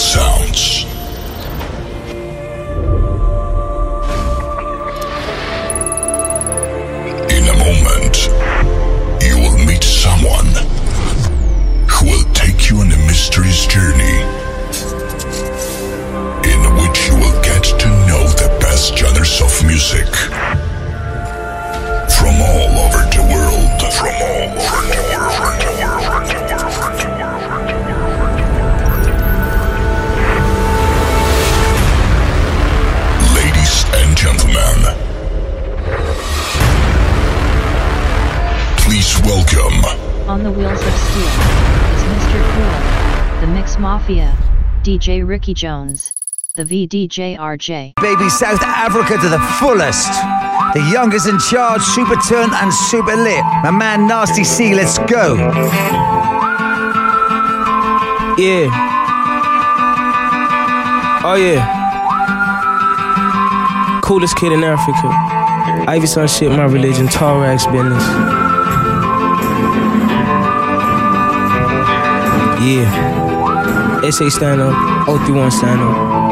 sounds. In a moment, you will meet someone who will take you on a mysterious journey in which you will get to know the best genres of music from all over the world. Ladies and gentlemen, please welcome. On the wheels of steel is Mr. Cool, the Mix Mafia, DJ Ricky Jones, the VDJ RJ. Baby, South Africa to the fullest. The youngest in charge, super turned and super lit. My man Nasty C, let's go. Yeah. Oh yeah. Coolest kid in Africa. Ivy Sun shit, my religion, tall rags business. Yeah. SA stand up, 031 stand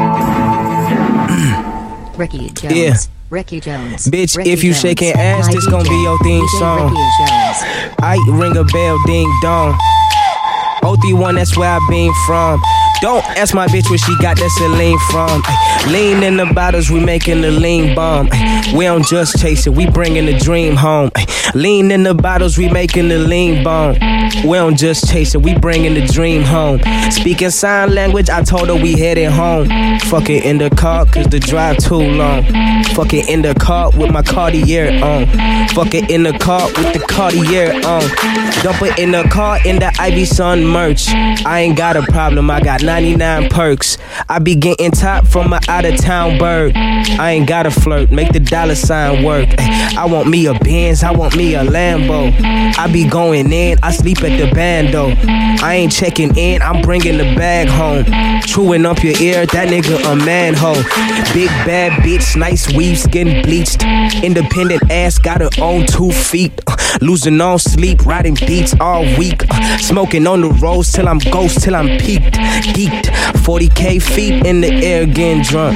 up. Ricky Jones. Yeah. Ricky Jones. Bitch, Ricky if you Jones. shaking ass, this gon' be your theme DJ song. Ricky Jones. I ring a bell, ding dong. 031, that's where I been from. Don't ask my bitch where she got that Celine from. Ay, lean in the bottles, we making the lean bomb. Ay, we don't just chase it, we bringing the dream home. Ay, lean in the bottles, we making the lean bomb. We don't just chase it, we bringing the dream home. Speaking sign language, I told her we headed home. Fuck it in the car, cause the drive too long. Fuck it in the car with my Cartier on. Fuck it in the car with the Cartier on. Dump it in the car in the Ivy Sun merch. I ain't got a problem, I got 99 perks. I be getting top from an out of town bird. I ain't gotta flirt, make the dollar sign work. I want me a Benz, I want me a Lambo. I be going in, I sleep at the bando. I ain't checking in, I'm bringing the bag home. Chewing up your ear, that nigga a manhole. Big bad bitch, nice weave, skin bleached. Independent ass, got her own 2 feet. Losing all sleep, riding beats all week. Smoking on the roads till I'm ghost, till I'm peaked. Geeked, 40K feet in the air getting drunk.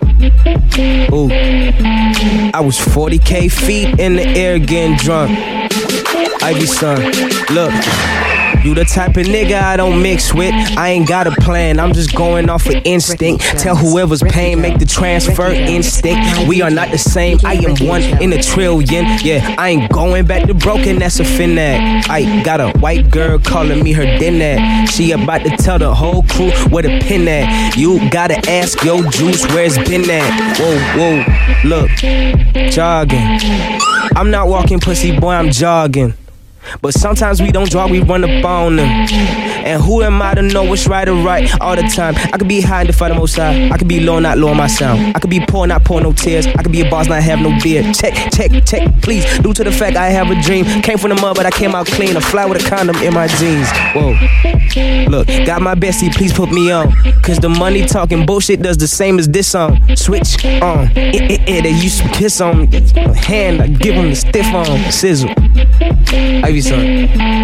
Ooh, I was 40K feet in the air getting drunk. Ivy Sun, look. You the type of nigga I don't mix with. I ain't got a plan, I'm just going off of instinct. Tell whoever's paying, make the transfer instinct. We are not the same, I am one in a trillion. Yeah, I ain't going back to broken, that's a finag. I got a white girl calling me her dinner. She about to tell the whole crew where the pin at. You gotta ask your juice where it's been at. Whoa, whoa, look, jogging. I'm not walking pussy, boy, I'm jogging. But sometimes we don't draw, we run up on them. And who am I to know what's right or right all the time? I could be high and defy the most high. I could be low, not low on my sound. I could be poor, not pour no tears. I could be a boss, not have no beard. Check, check, check, please. Due to the fact I have a dream. Came from the mud, but I came out clean. A fly with a condom in my jeans. Whoa. Look, got my bestie, please put me on. Cause the money talking bullshit does the same as this song. Switch on. They used to piss on me. Hand, I give them the stiff on. Sizzle. Ivy Sun.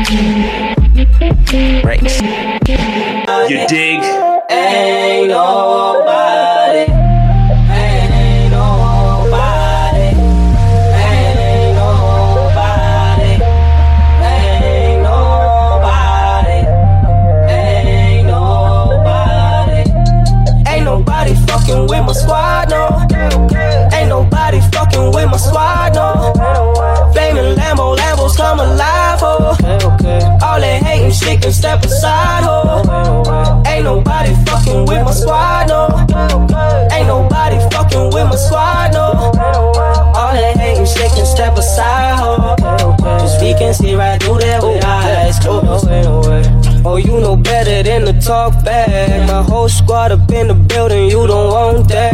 Breaks. You dig? Ain't nobody. Ain't nobody. Ain't nobody. Ain't nobody. Ain't nobody. Ain't nobody fucking with my squad, no. Ain't nobody fucking with my squad, no. Flaming Lambos come alive, ho. All that hating shit can step aside, ho. Ain't nobody fucking with my squad, no. Ain't nobody fucking with my squad, no. All that hating shit can step aside, ho. Cause we can see right through that with eyes closed. Oh, you know better than to talk back. My whole squad up in the building, you don't want that.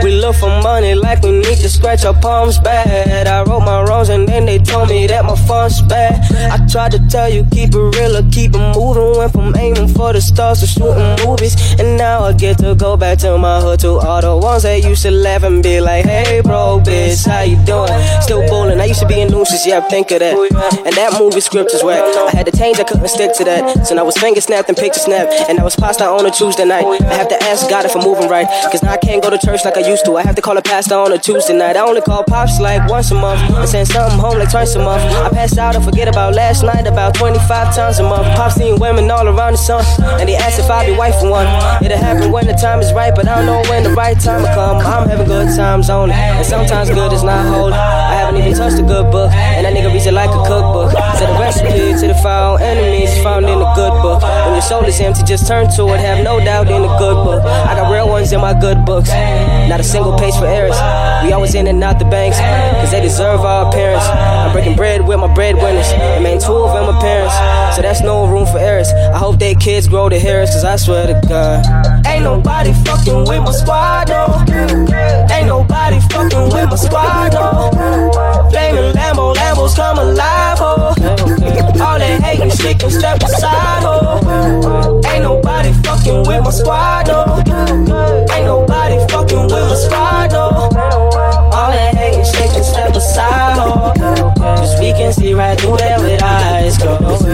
We look for money like we need to scratch our palms bad. I wrote my wrongs and then they told me that my fun's bad. I tried to tell you keep it real or keep it moving. Went from aiming for the stars to shooting movies. And now I get to go back to my hood, to all the ones that used to laugh and be like, hey bro, bitch, how you doing? Still bowling, I used to be in nooses, yeah, think of that. And that movie script is whack. I had to change, I couldn't stick to that. So now I was finger snapped and picture snapped. And I was pasta on a Tuesday night. I have to ask God if I'm moving right, cause now I can't go to church like I used to. I have to call a pastor on a Tuesday night. I only call pops like once a month and send something home like twice a month. I pass out and forget about last night about 25 times a month. Pops seeing women all around the sun, and they ask if I'll be wife for one. It'll happen when the time is right, but I don't know when the right time will come. I'm having good times only, and sometimes good is not holy. I haven't even touched a good book, and that nigga reads it like a cookbook. So the recipe to the foul enemies found in the good book. When your soul is empty, just turn to it, have no doubt in the good book. I got real ones in my good books, not a single page for errors. We always in and out the banks, cause they deserve our appearance. I'm breaking bread with my breadwinners, and man, 2 of them are parents, so that's no room for errors. I hope their kids grow to hear us, cause I swear to God, ain't nobody fucking with my squad, no. Ain't nobody fucking with my squad, no. Flaming Lambos come alive, oh. All that hating shit can step aside, oh. Ain't nobody fucking with my squad, no. Ain't nobody fucking with my squad, no. All that hating shit can step aside, oh. Cause we can see right through that with our eyes closed.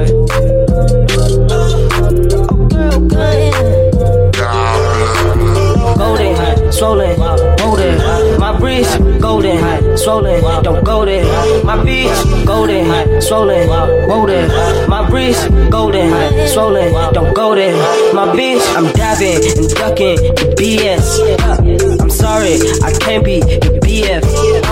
Golden, swollen, golden. My wrist, golden, swollen, don't go there. My bitch, golden, swollen, golden. My wrist, golden, swollen, don't go there. My bitch, I'm diving and ducking the BS. I'm sorry, I can't be your BF.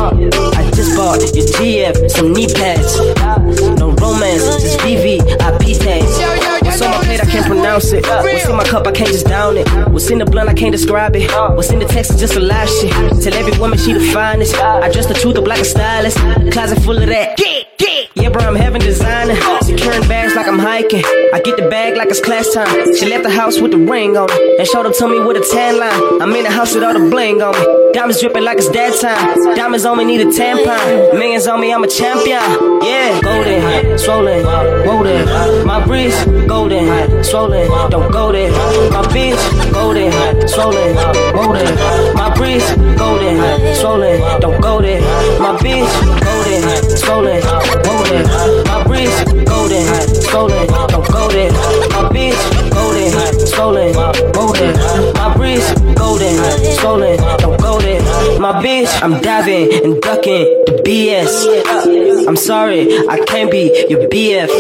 I just bought your GF, some knee pads. No romance, just VVIP tags. What's on my plate, I can't pronounce it. What's in my cup, I can't just down it. What's in the blunt, I can't describe it. What's in the text is just a lie shit. Tell every woman she the finest. I dress the truth up like a stylist. Closet full of that. Yeah, bro, I'm having designer. Securing bags like I'm hiking. I get the bag like it's class time. She left the house with the ring on it and showed up to me with a tan line. I'm in the house with all the bling on me. Diamonds dripping like it's dad time. Diamonds on me, need a tampon. Millions on me, I'm a champion. Yeah, golden, swollen, golden. My wrist, golden, swollen, don't go there. My bitch, golden, swollen, golden. My wrist, golden, swollen, don't go there. My bitch, golden, swollen, golden. My wrist, golden, swollen, don't go there. My bitch, golden, swollen, golden. My wrist, golden, swollen, don't go there. My bitch, I'm diving and ducking the BS. I'm sorry, I can't be your BF.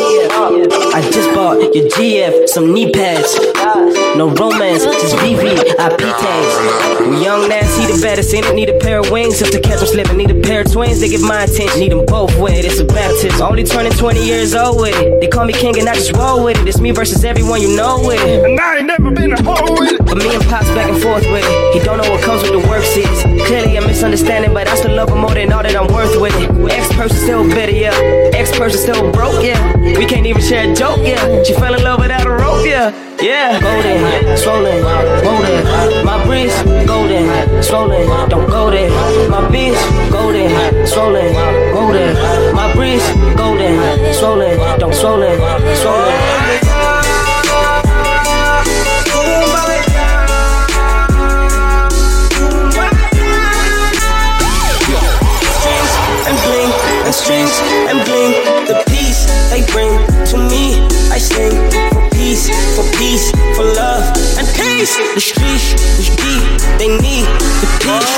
I just bought your GF, some knee pads. No romance, just VVIP tags. We young nasty, the baddest in it. Need a pair of wings just to catch them slipping. Need a pair of twins, they give my attention. Need them both with it, it's a baptism. Only turning 20 years old with it. They call me king and I just roll with it. It's me versus everyone you know with it. And I ain't never been a hoe with it. But me and Pops back and forth with it. He don't know what comes with the work seats. Clearly a misunderstanding, but I still love him more than all that I'm worth with it. Ex-person still bitter, yeah. Ex-person still broke, yeah. We can't even share a joke, yeah. She fell in love without a rope, yeah. Yeah, golden, swollen, golden. My wrist, golden, swollen, don't go there. My bitch, golden, swollen, golden. My wrist, golden, swollen, don't swollen, swollen. Strings and bling, the peace they bring to me. I sing for peace, for love and peace. The streets, they need the peace.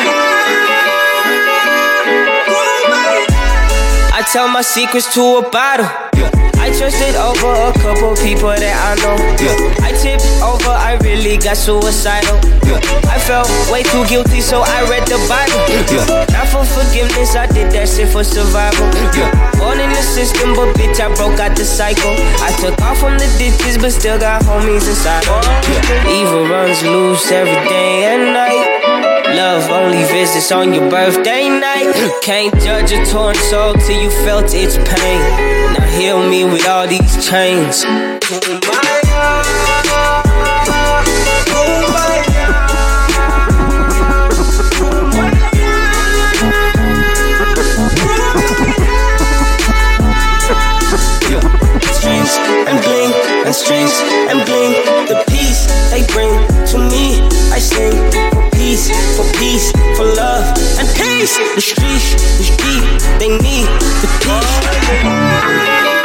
I tell my secrets to a bottle. I trusted over a couple people that I know. I tipped over, I really got suicidal. I felt way too guilty, so I read the Bible. Not for forgiveness, I did that shit for survival. Born in the system, but bitch, I broke out the cycle. I took off from the ditches, but still got homies inside. Evil runs loose every day and night. Love only visits on your birthday night. Can't judge a torn soul till you felt its pain. Now heal me with all these chains. The streets, they need the peace.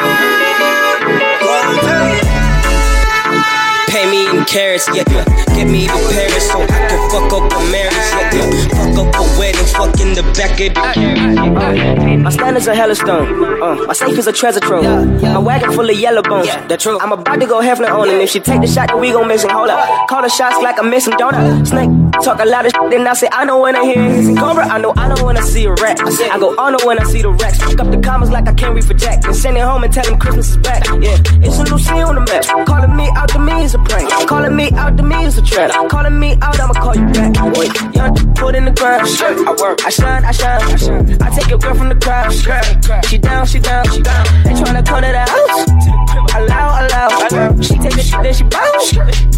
Pay me in carrots, yeah. Get me the Paris so I can fuck up a marriage, yeah. Fuck up a wedding, fuck in the back of the My standards are hella stone. My safe is a treasure trove. My wagon full of yellow bones. That's true. I'm about to go Hefner on him. If she take the shot, then we gon' miss him. Hold up. Call the shots like I miss him, don't I? Snake talk a lot of shit, then I say I know when I hear his and Cobra. I know when I see a rat. I go on when I see the racks. Pick up the commas like I can't read for Jack. And send it home and tell him Christmas is back. Yeah, it's a new scene on the map. Calling me out to me is a prank. Calling me out to me is a trap. Calling me out, I'ma call you back. Boy, young put in the ground. I work, I shine. I take your girl from the crowd. She down. They tryna come to the house. Allow. She take the shit, then she bounce.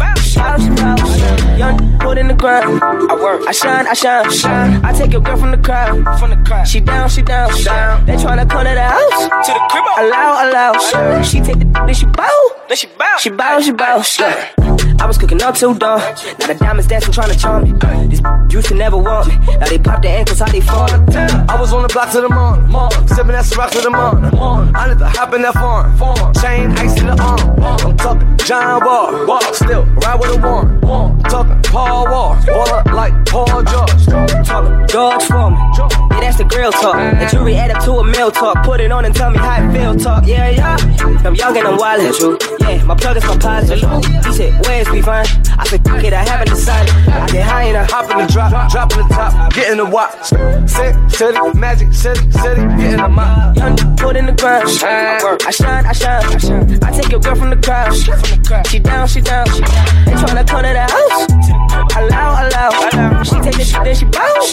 Young put in the ground. I work, I shine. I take your girl from the crowd. She down. They tryna come to the house. To the crib. Allow. She take the then she bounce. She bounce. I was cooking up till dawn. Now the diamonds dancing, trying to charm me. These used to never want me. Now they pop their ankles, how they fall. I was on the block to the morning. Sipping that Ciroc to the morning. I need to hop in that farm. Chain, ice in the arm. I'm talking John Wall. Still ride with a warrant. Talking Paul Wall. Waller like Paul George. Talking George Foreman. Yeah, that's the grill talk. The jury add up to a meal talk. Put it on and tell me how it feel talk. Yeah. I'm young and I'm wild, that's true. Yeah, my plug is my pilot. He said, where's we fine? I said, fuck it, I haven't decided. I get high and I hop in the drop in the top, get in the watch. City, Magic City, get in the mop. Young put in the ground. I shine. I take your girl from the crowd. She down. They tryna come to the house. Allow. She take the shit, then she bounce.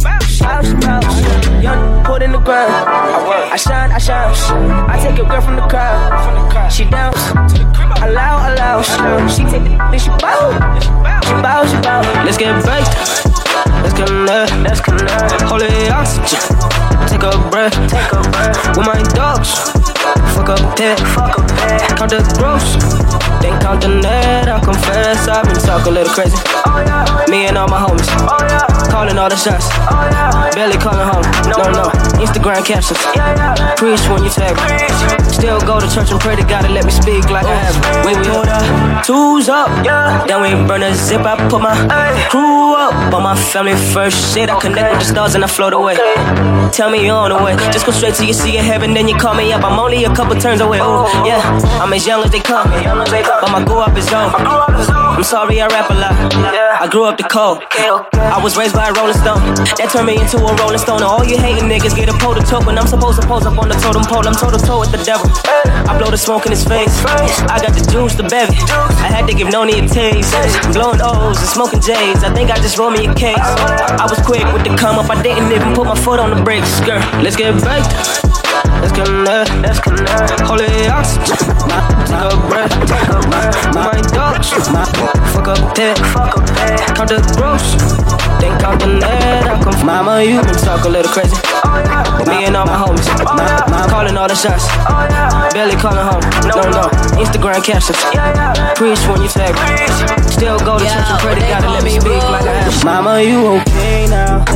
Young put in the ground. I shine. I take your girl from the crowd. She down. Allow. She take the then she bounce. Let's get baked. Let's connect. Holy oxygen. Take a breath. With my dogs. Fuck up pit. Count the gross. Then count the net. I'll confess I've been talking a little crazy. Me and all my homies. Calling all the shots. Barely calling home. No. Instagram captions. Preach when you tag me. Still go to church and pray to God to let me speak like I have. When we hold up, two's up. Then we burn a zip. I put my crew up. On my family first shit. I connect with the stars and I float away. Tell me you're on the way. Just go straight till you see in heaven. Then you call me up. I'm only a couple turns away. Oh, yeah. I'm as young as they come. But my grow up is on. I'm sorry I rap a lot. I grew up the cold. I was raised by a Rolling Stone. That turned me into a Rolling Stone. All you hating niggas get a pole to toe. When I'm supposed to pose up on the totem pole, I'm toe to toe with the devil. I blow the smoke in his face. I got the juice, the bevy. I had to give Noni a taste. Blowing O's and smoking J's. I think I just rolled me a case. I was quick with the come up. I didn't even put my foot on the brakes. Skirt, let's get baked. Let's connect. Holy oxygen. Take a breath. My dogs. Fuck up pit. Count the gross. Then count the net. I'll come. Mama, you been talk a little crazy. Me and all my homies. Calling all the shots. Barely calling home. No. Instagram captions. Preach when you tag me. Still go to church and pray to God to let me speak like I have. Mama, you okay now?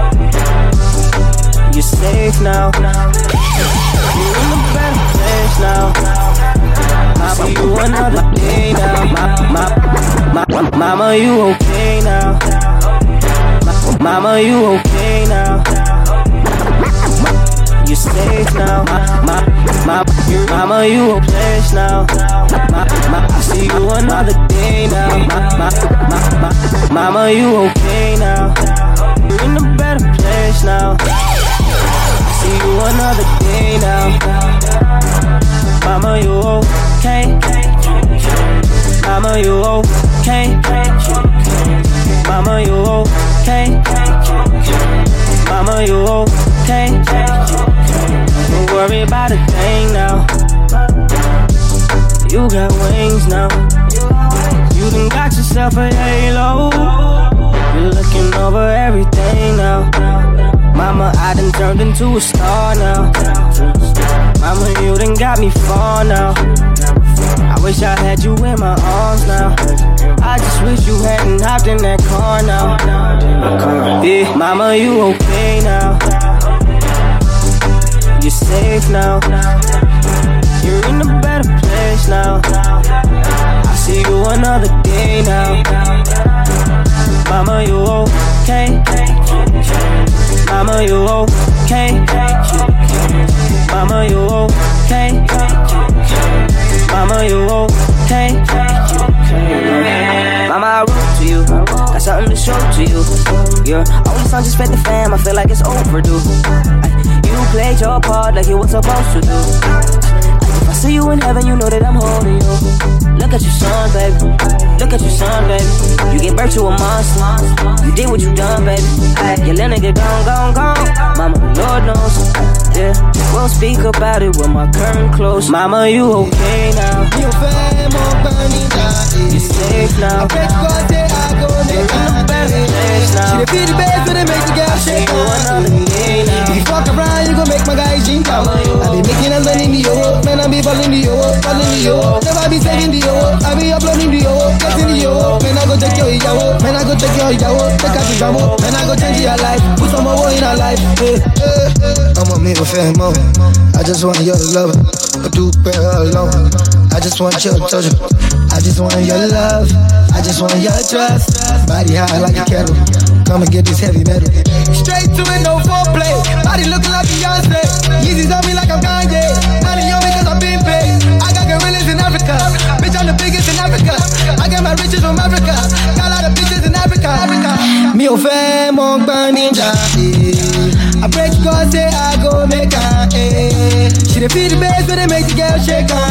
You safe now? You in a better place now. Mama, you another day now. Mama, you okay now? Mama, you okay now? You safe now. Mama, you a place now. I see you another day now. Mama, you okay now? You're in a better place now. See you another day now. Mama, you okay? Mama, you okay? Mama, you okay? Mama, you okay? Don't worry about a thing now. You got wings now. You done got yourself a halo. You're looking over everything now. Mama, I done turned into a star now. Mama, you done got me far now. I wish I had you in my arms now. I just wish you hadn't hopped in that car now. Yeah, mama, you okay now? You're safe now. You're in a better place now. I see you another day now. Mama, you okay? Mama, you okay? Mama, you okay? Mama, you okay? Mama, I wrote to you, got something to show to you. Your only son just fed the fam, I feel like it's overdue. You played your part like you were supposed to do. If I see you in heaven, you know that I'm holding you. Look at your son, baby. Look at your son, baby. You gave birth to a monster. You did what you done, baby. Your little nigga gone. Mama, Lord knows. Yeah, we'll speak about it when my curtain closed. Mama, you okay now? You fam on burning down. You're safe now. I bet God say I go make a better place now. She the feel the bass so they make the girl shake on. If you fuck around, you gon' make my guy ginger. I be making and running the yo, man I be falling the yo. Never be saving the yo, I be uploading the yo, getting the yo. Man I go take your yo, man I go take your yo, take out the drama, man I go change your life, put some more in our life. I'm a middle fan mo. I just want your love, but do better alone. I just want your touch, I just want your love, I just want your trust. Body high like a kettle, come and get this heavy metal. Straight to it, no foreplay. Body looking like Beyonce. Yeezys on me like I'm Kanye. Money on me cause I've been paid. I got gorillas in Africa. Bitch, I'm the biggest in Africa. I get my riches from Africa. Got a lot of bitches in Africa. Me o fẹ́ mọ gbọ́n ninja. I pray to God say I go make her. She the feel the bass when they make the girl shake her.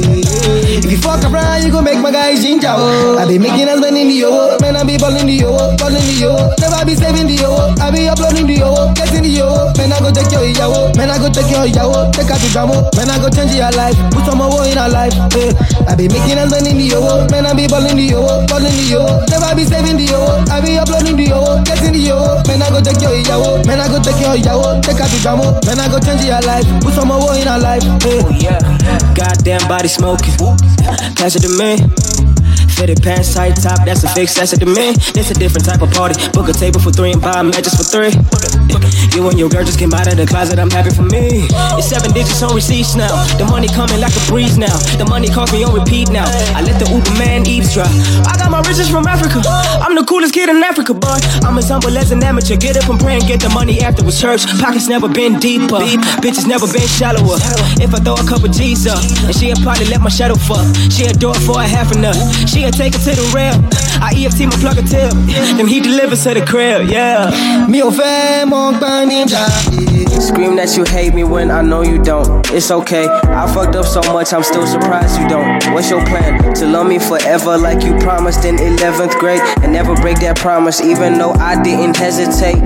If you fuck around, you gon' make my guy ginger. I be making us spend in the yo, man I be balling the yo. Never be saving the yo, I be uploading the yo, getting the yo. Man I go take your yo, man I go take your yo, take out the drama, man I go change your life, put some more in our life. I be making us spend in the yo, man I be balling the yo. Never be saving the yo, I be uploading the yo, getting the yo. Man I go take your yo, man I go take your yo, take out the drama, man I go change your life, put some more in our life. Oh yeah, goddamn body smoking, pass it to me. Fitted pants, tight top, that's a fix, that's it to me. It's a different type of party. Book a table for 3 and buy matches for 3. You and your girl just came out of the closet, I'm happy for me. It's 7 digits on receipts now. The money coming like a breeze now. The money calls me on repeat now. I let the Uber man eavesdrop. I got my riches from Africa. I'm the coolest kid in Africa, boy. I'm as humble as an amateur. Get up and pray and get the money afterwards. Church pockets never been deeper. Bitches never been shallower. If I throw a couple G's up, and she'll probably let my shadow fuck. She'll do it for a half a nut. She'll take it to the rail. I EFT my plug a tip. Then he delivers to the crib, yeah. Me o fẹ́ mọ gbọ́n ninja. Scream that you hate me when I know you don't. It's okay, I fucked up so much I'm still surprised you don't. What's your plan? To love me forever like you promised in 11th grade and never break that promise even though I didn't hesitate.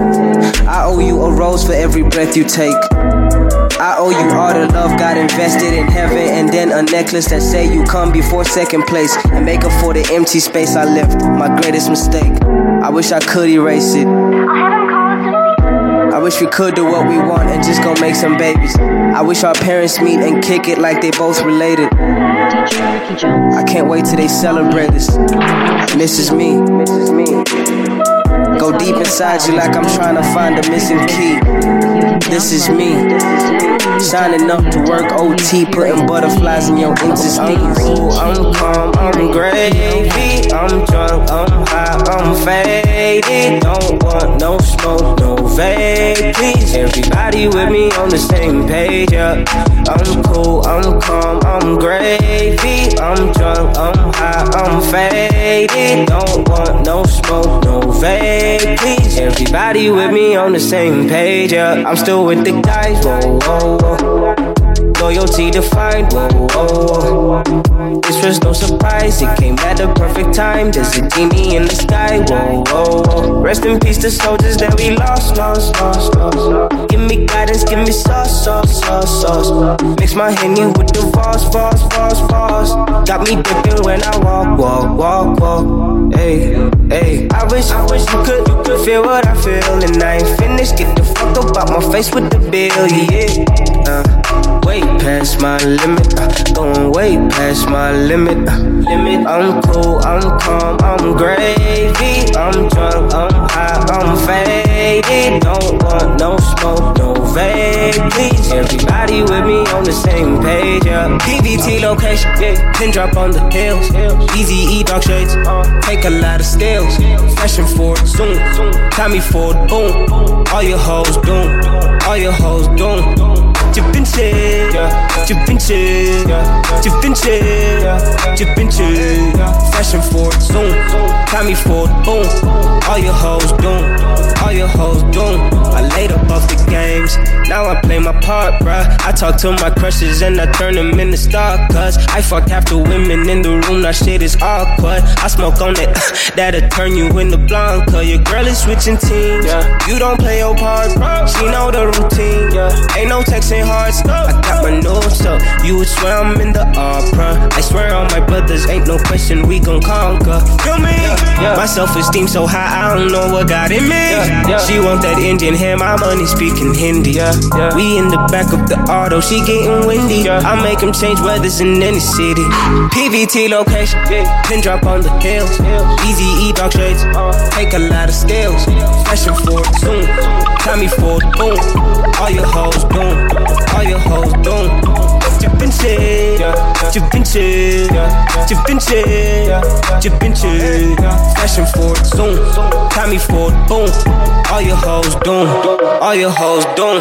I owe you a rose for every breath you take. I owe you all the love God invested in heaven, and then a necklace that say you come before second place and make up for the empty space I left. My greatest mistake. I wish I could erase it. I wish we could do what we want and just go make some babies. I wish our parents meet and kick it like they both related. DJ Ricky Jones. I can't wait till they celebrate this. And this is me. Go deep inside you like I'm trying to find a missing key. This is me. Signing up to work OT, putting butterflies in your intestines. I'm cool, I'm calm, I'm gravy. I'm drunk, I'm high, I'm faded. Don't want no smoke, no vape, please. Everybody with me on the same page, yeah. I'm cool, I'm calm, I'm gravy. I'm drunk, I'm high, I'm faded. Don't want no smoke, no vape, please. Everybody with me on the same page, yeah. I'm still with the guys, whoa, whoa, whoa. Loyalty defined, whoa, whoa, whoa. This was no surprise, it came at the perfect time. There's a genie in the sky, whoa, whoa, whoa. Rest in peace to soldiers that we lost. Give me guidance, give me sauce. Mix my Henny with the Voss. Got me dipping when I walk. Hey, I wish you could feel what I feel. And I ain't finished, get the fuck up out my face with the bill, yeah. Way past my limit, going way past my limit. I'm cool, I'm calm, I'm gravy. I'm drunk, I'm high, I'm faded. faded, don't want no smoke, no vape, please. Everybody with me on the same page, yeah. PVT location, yeah. Pin drop on the hills, Easy E dark shades, take a lot of stills. Fashion forward, zoom, Tommy Ford, boom. All your hoes doom, all your hoes doom. Da Vinci, Da Vinci, Da Vinci, Da Vinci. Fashion forward, zoom, Tommy Ford, boom. All your hoes doom, all your hoes doom. I laid up off the games, now I play my part, bruh. I talk to my crushes and I turn them into star, cuz I fuck half the women in the room, now shit is awkward. I smoke on that, that'll turn you into blonde, cuz your girl is switching teams, you don't play your part, bro. She know the routine, ain't no texting hard stuff. I got my notes up, you would swear I'm in the opera. I swear on my brothers, ain't no question we gon' conquer. Feel me? My self-esteem so high, I don't know what got in me. She want that Indian hair, my money speaking Hindi. We in the back of the auto, she getting windy. I make him change weathers in any city. PVT location, pin drop on the hills. Easy E dark shades, take a lot of stills. Fashion forward, zoom, Tommy Ford, boom. All your hoes doom, all your hoes doom. Da Vinci, Da Vinci, Da Vinci, Da Vinci. Fashion forward, zoom, Tommy Ford, boom. All your hoes doom, all your hoes doom.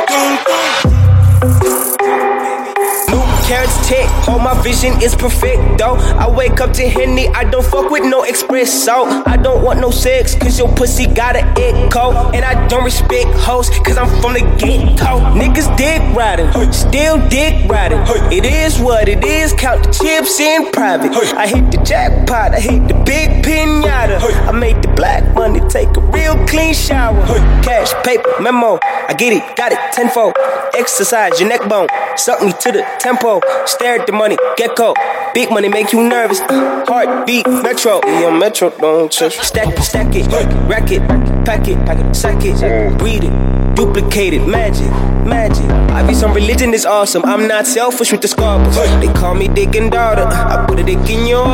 Carrots tick, oh my vision is perfect though. I wake up to Henny, I don't fuck with no espresso. I don't want no sex, cause your pussy got an echo. And I don't respect hoes, cause I'm from the get-go. Niggas dick riding, still dick riding. It is what it is, count the chips in private. I hit the jackpot, I hit the big pinata. I made the black money take a real clean shower. Cash, paper, memo, I get it, got it tenfold. Exercise your neck bone, suck me to the tempo. Stare at the money, gecko. Big money make you nervous. Heartbeat, metro. Yeah, metro, don't touch. Stack it, rack it, pack it, sack it, breed it, duplicate it, magic. I be some religion is awesome. I'm not selfish with the scalpels. They call me dick and daughter. I put a dick in your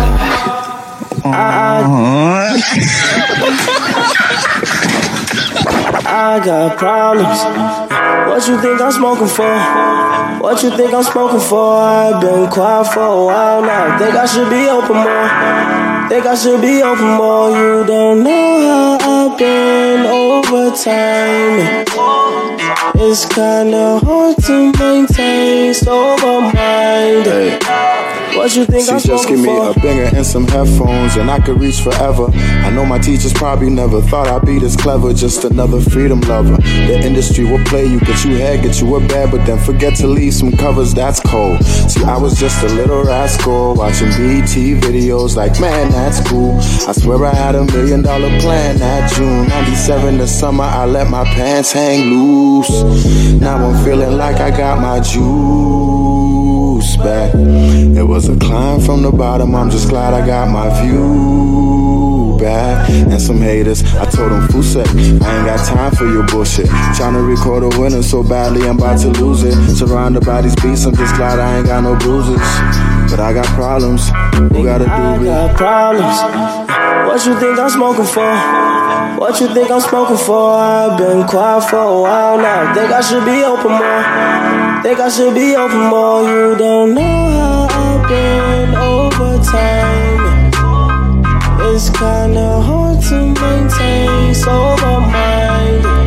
I got problems. What you think I'm smoking for? What you think I'm smoking for? I've been quiet for a while now. Think I should be open more. Think I should be open more. You don't know how I've been over time. It's kinda hard to maintain sober mind. Hey. What you think I'm just give me a banger and some headphones and I could reach forever. I know my teachers probably never thought I'd be this clever. Just another freedom lover. The industry will play you, get you head, get you a bed, but then forget to leave some covers, that's cold. See, I was just a little rascal watching BT videos like, man, that's cool. I swear I had $1 million plan that June 97 the summer I let my pants hang loose. Now I'm feeling like I got my juice back. It was a climb from the bottom, I'm just glad I got my view back. And some haters, I told them, Fusek, I ain't got time for your bullshit. Tryna record a winner so badly I'm about to lose it. Surrounded by these beats, I'm just glad I ain't got no bruises. But I got problems, who gotta do it? I got problems. What you think I'm smoking for? What you think I'm smoking for? I've been quiet for a while now. Think I should be open more. Think I should be open more. You don't know how I've been over time. It's kinda hard to maintain sober mind.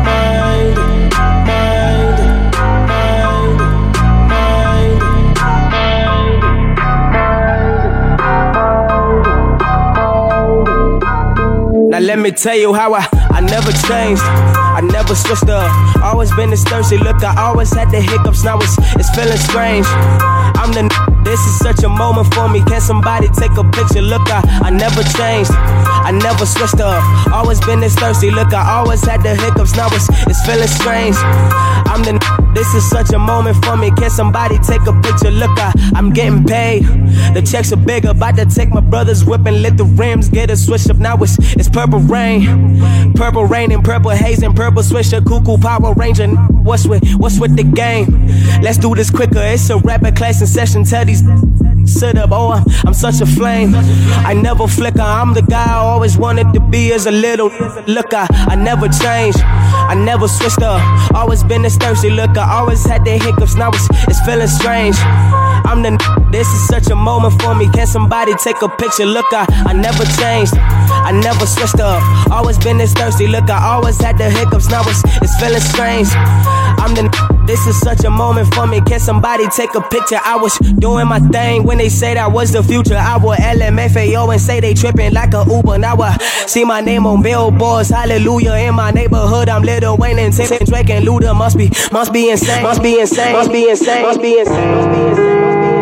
Now let me tell you how I never changed. I never switched up. Always been this thirsty look. I always had the hiccups. Now it's feeling strange. I'm the this is such a moment for me. Can somebody take a picture? Look, I never changed. I never switched up. Always been this thirsty look. I always had the hiccups. Now it's feeling strange. I'm the this is such a moment for me. Can somebody take a picture? Look, I'm getting paid. The checks are bigger. About to take my brother's whip and let the rims get a switch up. Now it's purple rain and purple haze and purple swisher. Cuckoo Power Ranger. What's with the game? Let's do this quicker. It's a rapid class in session. Tell these sit up, oh, I'm such a flame. I never flicker, I'm the guy I always wanted to be as a little looker. I never changed, I never switched up. Always been this thirsty looker, always had the hiccups, now it's feeling strange. I'm the this is such a moment for me. Can somebody take a picture? Look, I never changed, I never switched up. Always been this thirsty looker, always had the hiccups, now it's feeling strange. I'm the this is such a moment for me. Can somebody take a picture? I was doing my thing when they say that was the future. I would LMFAO and say they tripping like a Uber. Now I see my name on billboards, hallelujah. In my neighborhood, I'm Lil Wayne and Tim, Drake and Luda. Must be insane, must be insane, must be insane, must be insane, must be insane.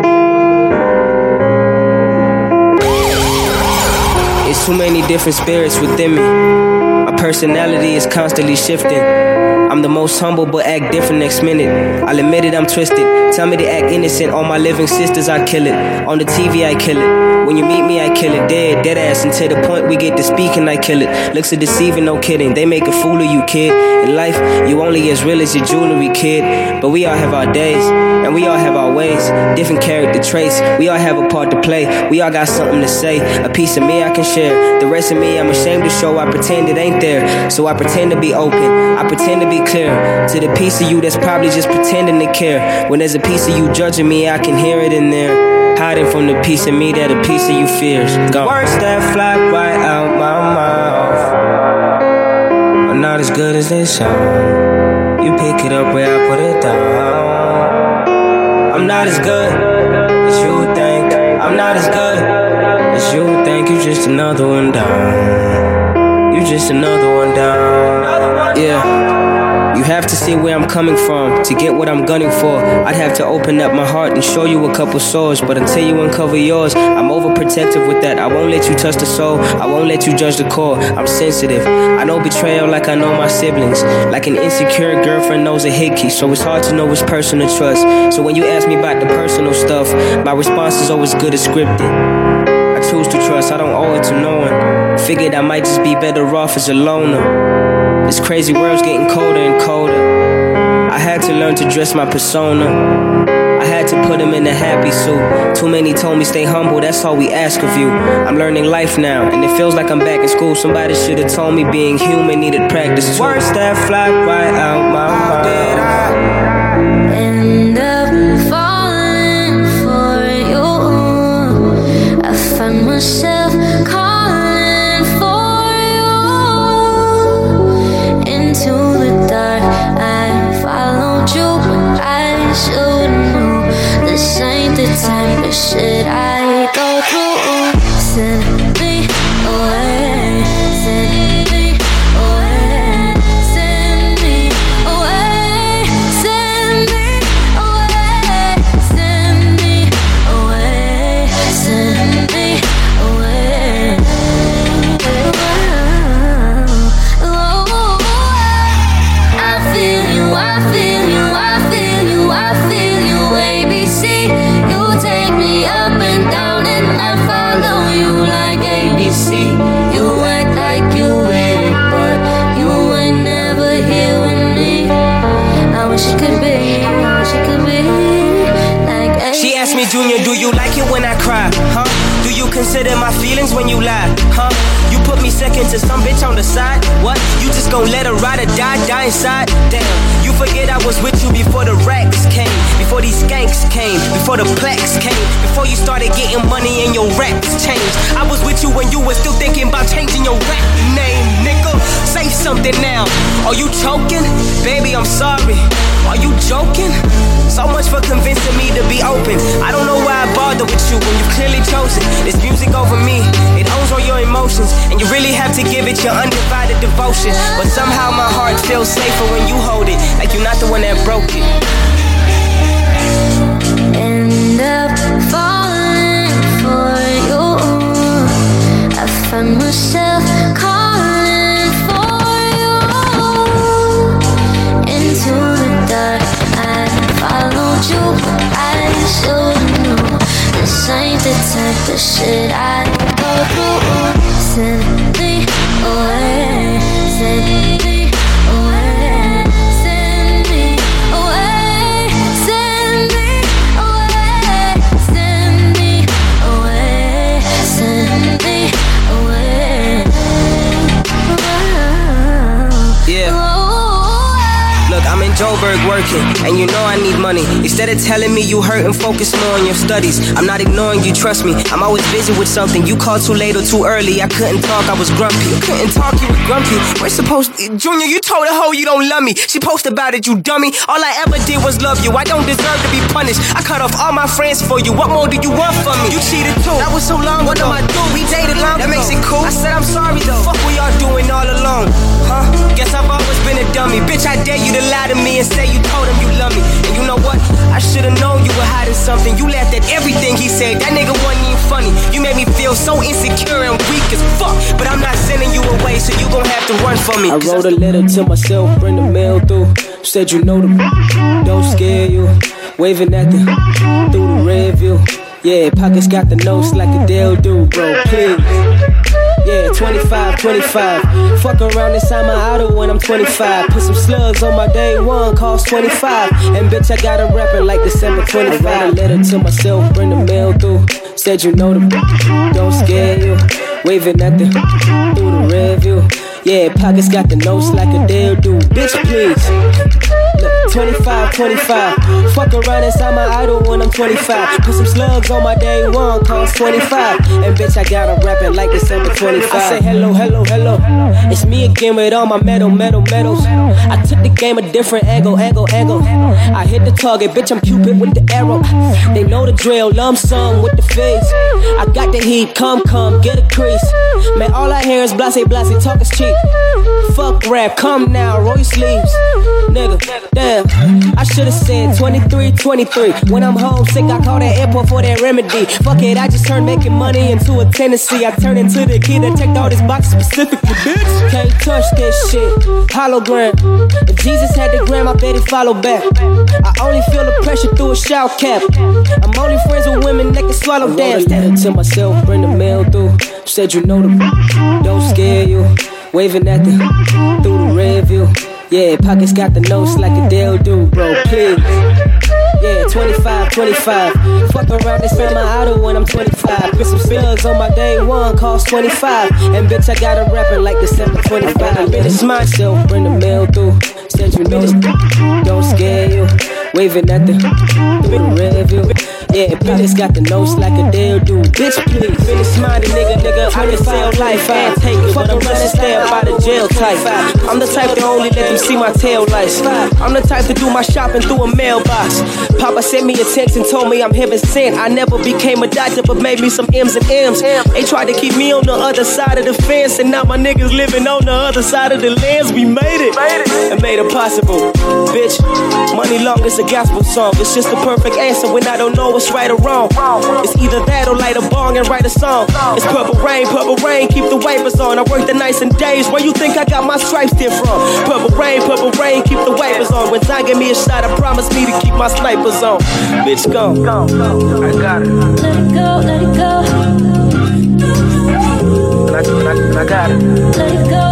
It's too many different spirits within me. My personality is constantly shifting. I'm the most humble but act different next minute. I'll admit it, I'm twisted. Tell me to act innocent. All my living sisters, I kill it. On the TV, I kill it. When you meet me, I kill it. Dead ass. And to the point we get to speaking, I kill it. Looks are deceiving, no kidding. They make a fool of you, kid. In life, you only as real as your jewelry, kid. But we all have our days, and we all have our ways. Different character traits. We all have a part to play. We all got something to say. A piece of me I can share. The rest of me I'm ashamed to show. I pretend it ain't there. So I pretend to be open. I pretend to be clear. To the piece of you that's probably just pretending to care. When there's a piece of you judging me, I can hear it in there. Hiding from the piece of me that a piece of you fears. Gone. Words that fly right out my mouth are not as good as they sound. You pick it up where I put it down. I'm not as good as you think. I'm not as good as you think. You just another one down. You just another one down. Yeah. You have to see where I'm coming from to get what I'm gunning for. I'd have to open up my heart and show you a couple sores, but until you uncover yours, I'm overprotective with that. I won't let you touch the soul, I won't let you judge the core. I'm sensitive, I know betrayal like I know my siblings. Like an insecure girlfriend knows a hickey, so it's hard to know which person to trust. So when you ask me about the personal stuff, my response is always good as scripted. I choose to trust, I don't owe it to no one. Figured I might just be better off as a loner. This crazy world's getting colder and colder. I had to learn to dress my persona. I had to put him in a happy suit. Too many told me stay humble, that's all we ask of you. I'm learning life now, and it feels like I'm back in school. Somebody should have told me being human needed practice too. Words that fly right out my mouth. End up falling for you. I find myself calling for you. Into the dark, I followed you, but I should know this ain't the type of shit I go through. Send me away, send me away, send me away, send me away, send me away, send me away. I feel you, I feel you, I feel you, I feel you, ABC. You take me up and down and I follow you like ABC. You act like you with it, but you ain't never here with me. I wish it could be, I wish it could be like ABC. She asked me, Junior, do you like it when I cry? Huh? Do you consider my feelings when you lie? Huh? You put me second to some bitch on the side? What? You just gon' let her ride or die inside? Damn, you forget I was with you before the racks came, before these skanks came, before the plaques came, before you started getting money and your raps changed. I was with you when you were still thinking about changing your rap name, nigga. Say something now. Are you choking? Baby, I'm sorry. Are you joking? So much for convincing me to be open. I don't know why I bother with you when you clearly chosen. It's music over me. It owns all your emotions, and you really have to give it your undivided devotion. But somehow my heart feels safer when you hold it, like you're not the one that broke it. End up falling for you. I find myself calling for you. Into the dark, I followed you, but I should know this ain't the type of shit I go through. Send me away, send me away, send me away, send me away, send me Joburg working, and you know I need money. Instead of telling me you hurt and focus more on your studies, I'm not ignoring you, trust me. I'm always busy with something. You called too late or too early. I couldn't talk, I was grumpy. You couldn't talk, you were grumpy. We're supposed to, Junior, you told a hoe you don't love me. She posted about it, you dummy. All I ever did was love you. I don't deserve to be punished. I cut off all my friends for you. What more do you want from me? You cheated too. That was so long ago. What am I doing? We dated long ago. That makes it cool. I said I'm sorry though. Fuck what y'all doing all alone, huh? Guess I've always been a dummy. Bitch, I dare you to lie to me and say you told him you love me. And you know what? I should've known you were hiding something. You laughed at everything he said. That nigga wasn't even funny. You made me feel so insecure and weak as fuck. But I'm not sending you away, so you gon' have to run from me. I wrote a letter to myself, bring the mail through. Said you know the don't scare you. Waving at the through the red view. Yeah, pockets got the notes like a Dale do, bro, please. Yeah, 25. Fuck around inside my auto when I'm 25. Put some slugs on my day one, cost 25. And bitch, I got a rapper like December 25. I wrote a letter to myself, bring the mail through. Said you know the don't scare you. Waving at the through the red view. Yeah, pockets got the notes like a Dale do. Bitch, please. Look, 25. Fuck around inside my idol when I'm 25. Put some slugs on my day one, cost 25. And bitch, I got a rapping like December 25. I say hello. It's me again with all my medals. I took the game a different angle. I hit the target, bitch, I'm Cupid with the arrow. They know the drill, lump sum with the face. I got the heat, come, get a crease. Man, all I hear is blase, talk is cheap. Fuck rap, come now, roll your sleeves. Nigga, damn, I should've said 23. When I'm homesick, I call that airport for that remedy. Fuck it, I just turned making money into a tendency. I turned into the kid that checked all this box specifically, bitch. Can't touch this shit, hologram. If Jesus had the gram, I bet he follow back. I only feel the pressure through a shout cap. I'm only friends with women that can swallow damn. I wrote a letter to myself, bring the mail through. Said you know the don't scare you. Waving at the through the red view. Yeah, pockets got the notes like a Dale do, bro, please. Yeah, 25. Fuck around and spend my auto when I'm 25. Put some slugs on my day one, cost 25. And bitch, I got a rapper like December 25. I finish myself, bring the mail through. Said you know don't scare you. Waving at the through the red view. Yeah, bitches got the notes like a Dale do. Bitch, please. Finish minded, nigga. I can sell life and take it, but I'm gonna stay up by the jail type. I'm the type to only let them see my tail lights. I'm the type to do my shopping through a mailbox. Papa sent me a text and told me I'm heaven sent. I never became a doctor, but made me some M's and M's. They tried to keep me on the other side of the fence, and now my niggas living on the other side of the lens. We made it and made it possible. Bitch, money long is a gospel song. It's just the perfect answer when I don't know what's right or wrong. It's either that or light a bong and write a song. It's purple rain, keep the wipers on. I work the nights and days. Where you think I got my stripes there from? Purple rain, keep the wipers on. When time give me a shot, I promise me to keep my snipers on. Bitch, go. I got it. Let it go. I got it. Let it go.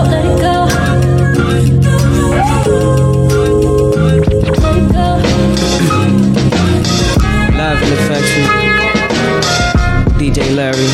Live in the factory, DJ Larry.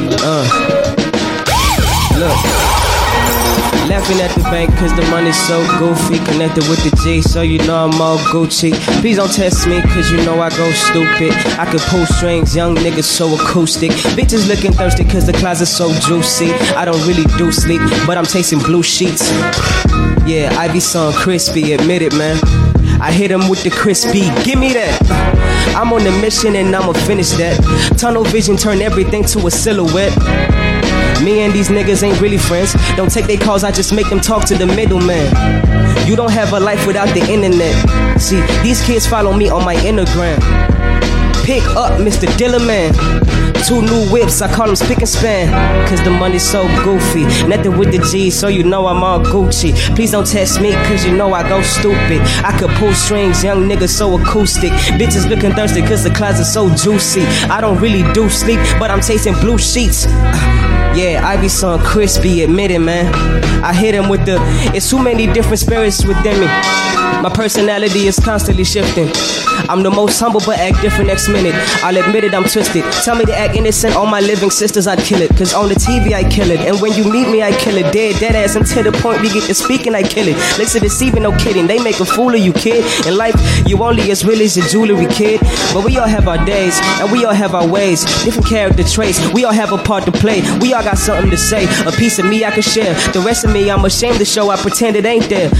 Look, laughing at the bank cause the money's so goofy. Connected with the G, so you know I'm all Gucci. Please don't test me cause you know I go stupid. I could pull strings, young niggas so acoustic. Bitches looking thirsty cause the closet's so juicy. I don't really do sleep, but I'm tasting blue sheets. Yeah, Ivy song crispy, admit it, man. I hit him with the crispy, give me that. I'm on a mission and I'ma finish that. Tunnel vision turn everything to a silhouette. Me and these niggas ain't really friends. Don't take their calls, I just make them talk to the middleman. You don't have a life without the internet. See, these kids follow me on my Instagram. Pick up Mr. Dillerman. 2 new whips, I call them spick and span. Cause the money's so goofy. Nothing with the G, so you know I'm all Gucci. Please don't test me, cause you know I go stupid. I could pull strings, young niggas so acoustic. Bitches looking thirsty cause the closet's so juicy. I don't really do sleep, but I'm tasting blue sheets. Yeah, Ivy son crispy, admit it, man. I hit him with the, it's too many different spirits within me. My personality is constantly shifting. I'm the most humble but act different next minute. I'll admit it, I'm twisted. Tell me to act innocent on my living sisters, I'd kill it. Cause on the TV I kill it. And when you meet me I kill it. Dead ass until the point we get to speaking I kill it. Listen, deceiving, no kidding. They make a fool of you, kid. In life you only as real as your jewelry, kid. But we all have our days and we all have our ways. Different character traits, we all have a part to play. We all got something to say. A piece of me I can share. The rest of me I'm ashamed to show. I pretend it ain't there.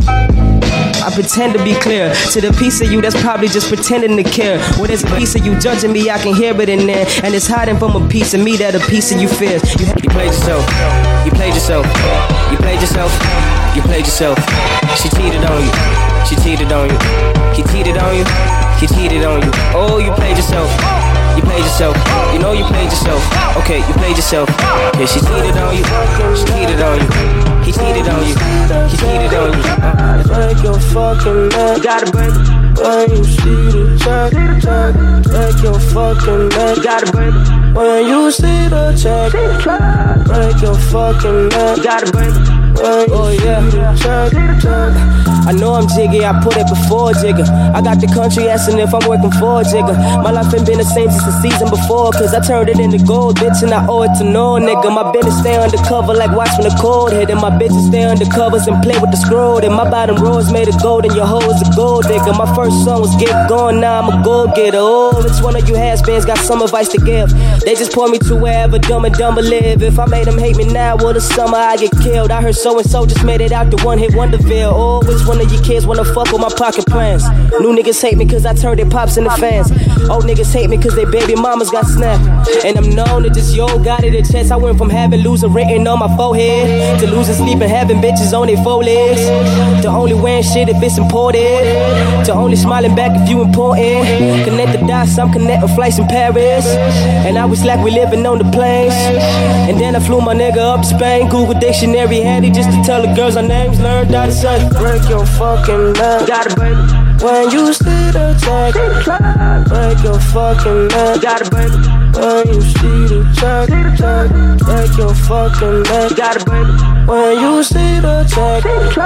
I pretend to be clear to the piece of you that's probably just pretending to care. Well, there's a piece of you judging me, I can hear it in there. And it's hiding from a piece of me that a piece of you fears. You played yourself. You played yourself. You played yourself. You played yourself. She cheated on you. She cheated on you. He cheated on you. He cheated on you. Oh, you played yourself. You played yourself. You know you played yourself. Okay, you played yourself. Yeah, she cheated on you. She cheated on you. He cheated on you. He cheated on you. Break your fucking neck. You gotta break. When you see the check. Break your fucking neck. You gotta break. When you see the check. Break your fucking neck. You gotta break. Oh yeah, check. I know I'm jiggy, I put it before Jigger. I got the country asking if I'm working for Jigger. My life ain't been the same since the season before, cause I turned it into gold, bitch, and I owe it to no nigga. My business stay undercover like watch when the cold hit, and my bitches stay undercovers and play with the scroll. And my bottom row is made of gold and your hoe is a gold digger. My first song was Get Gone, now I'm a gold getter. Oh, which one of you has-beens got some advice to give? They just point me to wherever Dumb and Dumber live. If I made them hate me now, well, the summer I get killed. I heard so-and-so just made it out the one-hit Wonderville. Oh, which one of you kids wanna fuck with my pocket plans? New niggas hate me cause I turned their pops into fans. Old niggas hate me cause their baby mamas got snapped. And I'm known to just yo got it a chest. I went from having loser written on my forehead to losing sleep and having bitches on their 4 legs, to only wearing shit if it's imported, to only smiling back if you important. Connect the dots, I'm connecting flights in Paris. And I was like we living on the planes. And then I flew my nigga up to Spain. Google dictionary handy just to tell the girls our names. Learned how to say break your fucking neck. You gotta break. When you see the check. Break your fucking neck. You gotta break. When you see the check. Break your fucking neck. You gotta break. When you see the check.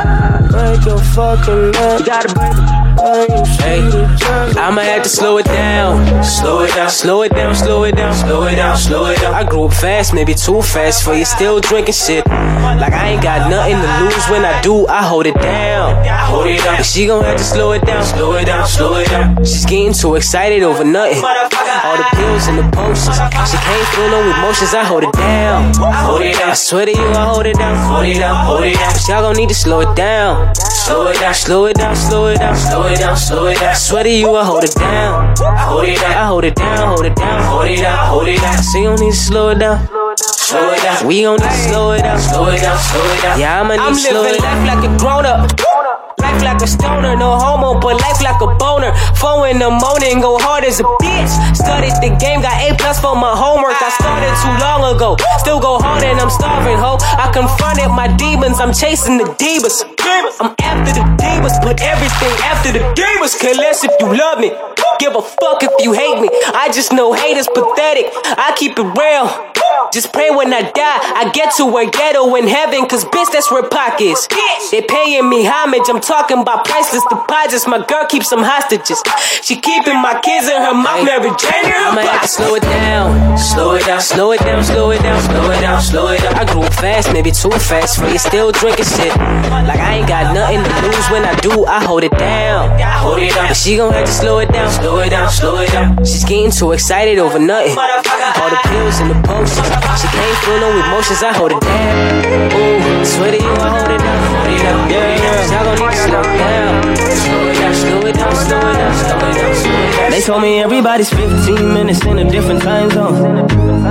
Break your fucking neck. You gotta break. When you see the check. I'ma have to slow it down. Slow it down. Slow it down. Slow it down. Slow it down. Slow it down. I grew up fast, maybe too fast for you. Still drinking shit. Like I ain't got nothing to lose. When I do, I hold it down. I hold it down. She gon' have to slow it down. Slow it down. Slow it down. She's getting too excited over nothing. All the pills and the potions. She can't feel no emotions. I hold it down. I hold it down. I swear to you, I hold it down. Hold it down. Hold it down. But y'all gon' need to slow it down. Slow it down. Slow it down. Slow it down. Slow it down. Slow it down. I swear to you, I hold it down. I hold it down. I hold it down. Hold it down. Hold it down. Hold it down. So you don't need to slow it down. Slow it down. We gon' need to slow it down. Slow it down. Slow it down. Yeah, I'ma need to slow it down. I'm living life like a grown up. Life like a stoner, no homo, but life like a boner. 4 in the morning, go hard as a bitch. Studied the game, got A+ for my homework. I started too long ago, still go hard and I'm starving, ho. I confronted my demons, I'm chasing the divas. I'm after the divas, put everything after the divas. Care less if you love me, give a fuck if you hate me. I just know hate is pathetic, I keep it real. Just pray when I die, I get to a ghetto in heaven. Cause bitch, that's where Pac is. They paying me homage, I'm talking about priceless deposits. My girl keeps some hostages. She keeping my kids in her mouth, Mary Jane. I'ma have to slow it down. Slow it down, slow it down, slow it down, slow it down, slow it down. I grew up fast, maybe too fast for you. Still drinking shit. Like I ain't got nothing to lose. When I do, I hold it down. I hold it down. But she gon' have to slow it down. Slow it down, slow it down. She's getting too excited over nothing. All the pills and the potions. She can't feel no emotions. I hold it down. Ooh, swear to you, I hold it down. Hold it down. Yeah. Y'all gon' need to slow it down. Slow it down, slow it down, slow it down, slow it down, slow it down. They told me everybody's 15 minutes in a different time zone.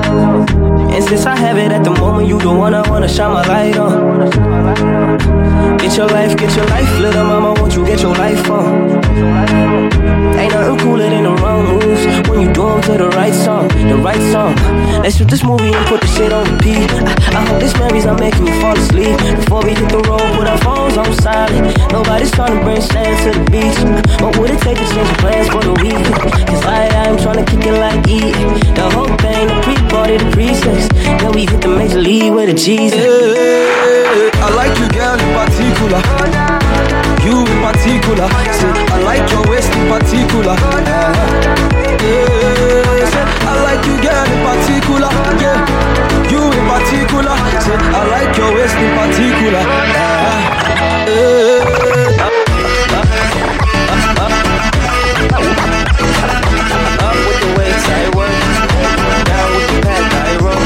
And since I have it at the moment, you the one I wanna shine my light on. Get your life, little mama, won't you get your life on? Ain't nothing cooler than the wrong moves. When when you do them to the right song, the right song. Let's shoot this movie and put the shit on repeat. I hope this memories are making me fall asleep. Before we hit the road, put our phones on silent. Nobody's trying to bring sand to the beach. What would it take to change plans for the week? Cause I'm trying to kick it like E. The whole thing, the pre-party, the pre-sex. Then we hit the major league with a Jesus. I like you, girl, in particular. You in particular. Say, I like your waist in particular. I like you, girl, in particular. Yeah, you in particular. Say, I like your waist in particular. Up with the weights, I work. Down with the pack, I roll.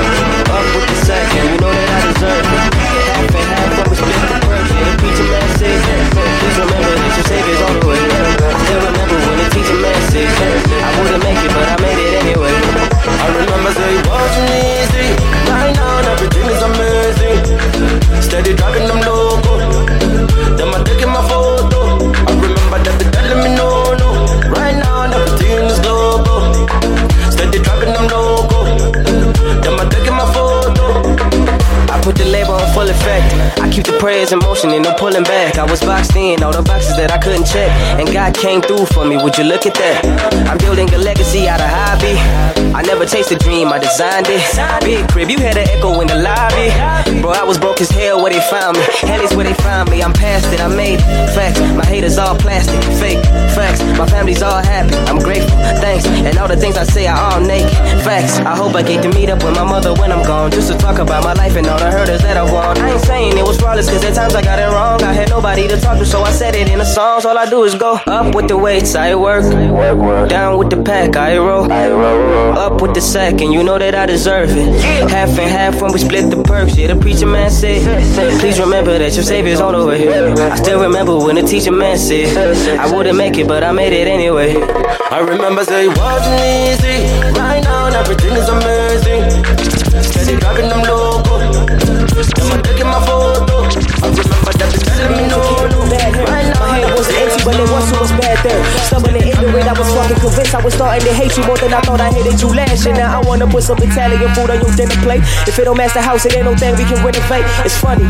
Up with the second, you know that I deserve it. Half and half, but we split the work. Yeah, the preacher man says, please remember that your Savior's on the way. Still remember when the teacher man said, I wouldn't make it, but I made it anyway. I remember say it wasn't easy. Right now, everything is amazing. Steady driving them loco. Them I taking my photo. I remember that they telling me no. Right now, everything is loco. Steady driving them loco. Them I taking my photo. I put the label on full effect. I keep the prayers in motion and no pulling back. I was boxed in, all the boxes that I couldn't check. And God came through for me, would you look at that? I'm building a legacy out of hobby. I never chased a dream, I designed it. Big crib, you had an echo in the lobby. Bro, I was broke as hell where they found me. Hell is where they found me, I'm past it, I made it. Facts, my haters all plastic, fake. Facts, my family's all happy, I'm grateful, thanks. And all the things I say are all naked. Facts, I hope I get to meet up with my mother when I'm gone. Just to talk about my life and all the hurdles that I won. I ain't saying it was flawless, cause at times I got it wrong. I had nobody to talk to, so I said it in the songs. All I do is go up with the weights, I work. Down with the pack, I roll. Up with the sack, and you know that I deserve it. Half and half when we split the perks. Yeah, the preacher man said, please remember that your Savior's all over here. I still remember when the teacher man said, I wouldn't make it, but I made it anyway. I remember say it wasn't easy. Right now, everything is amazing. Steady driving them loco. Them I taking my photo. I remember that they telling me no. Right now, my head was empty, but it wasn't what's bad there. Stubborn and ignorant, I was fucking convinced I was starting to hate you more than I thought I hated you last year. Now I wanna put some Italian food on your dinner plate. If it don't match the house, it ain't no thing we can renovate. It's funny.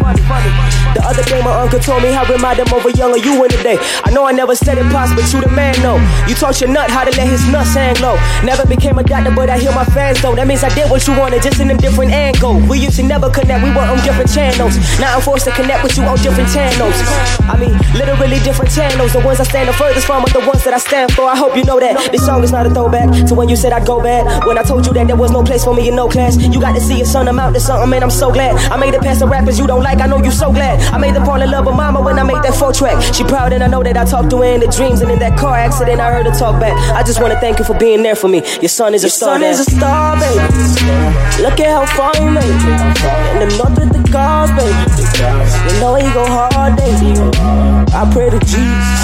The other day my uncle told me how remind him of a younger you in the day. I know I never said it possible, but you the man though. You taught your nut how to let his nuts hang low. Never became a doctor, but I hear my fans though. That means I did what you wanted, just in a different angle. We used to never connect, we were on different channels. Now I'm forced to connect with you on different channels. I mean, literally different channels. The ones I stand the furthest from are the ones that I stand for. I hope you know that this song is not a throwback to when you said I'd go bad. When I told you that there was no place for me in no class. You got to see your son amount to something, man, I'm so glad. I made it past the rappers you don't like, I know you so glad. I made them fall in love with mama when I made that 4-track. She proud and I know that I talked to her in the dreams. And in that car accident I heard her talk back. I just want to thank you for being there for me. Your son is a star. Your son is a star, baby. Look at how far you made it. In the north with the cars, baby. You know he go hard, baby. I pray to Jesus.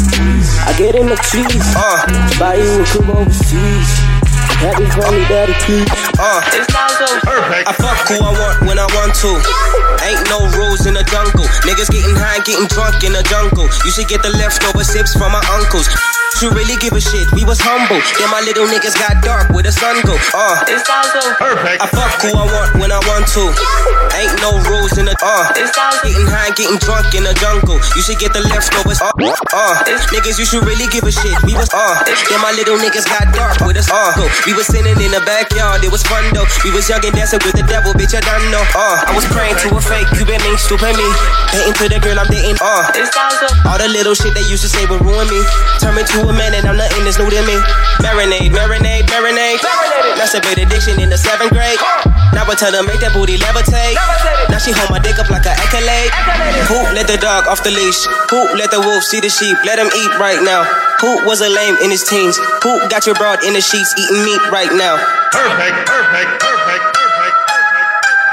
I get him the cheese. Buy you a crib overseas. Happy family, daddy, please. It's not so perfect. I fuck who I want when I want to. Ain't no rules in the jungle. Niggas getting high, getting drunk in the jungle. You should get the leftover sips from my uncles. You really give a shit, we was humble. Then my little niggas got dark where the sun go. It's not so perfect. I fuck who I want when I want to. Ain't no rules in the It's not so getting high, getting drunk in the jungle. You should get the leftovers. Niggas, you should really give a shit. We was then my little niggas got dark with us. We was sitting in the backyard, it was fun though. We was young and dancing with the devil, bitch, I done know. I was praying to a fake, Cuban link, stupid me. Hating to the girl I'm dating. It's not so all the little shit they used to say would ruin me. Turn me to a man and I'm nothing that's new to me. Marinade, marinade, marinade. Masturbate addiction in the 7th grade. Now I tell her make that booty levitate. Now she hold my dick up like an accolade. Who let the dog off the leash? Who let the wolf see the sheep? Let him eat right now. Who was a lame in his teens? Who got your broad in the sheets eating meat right now? perfect, perfect, perfect, perfect, perfect.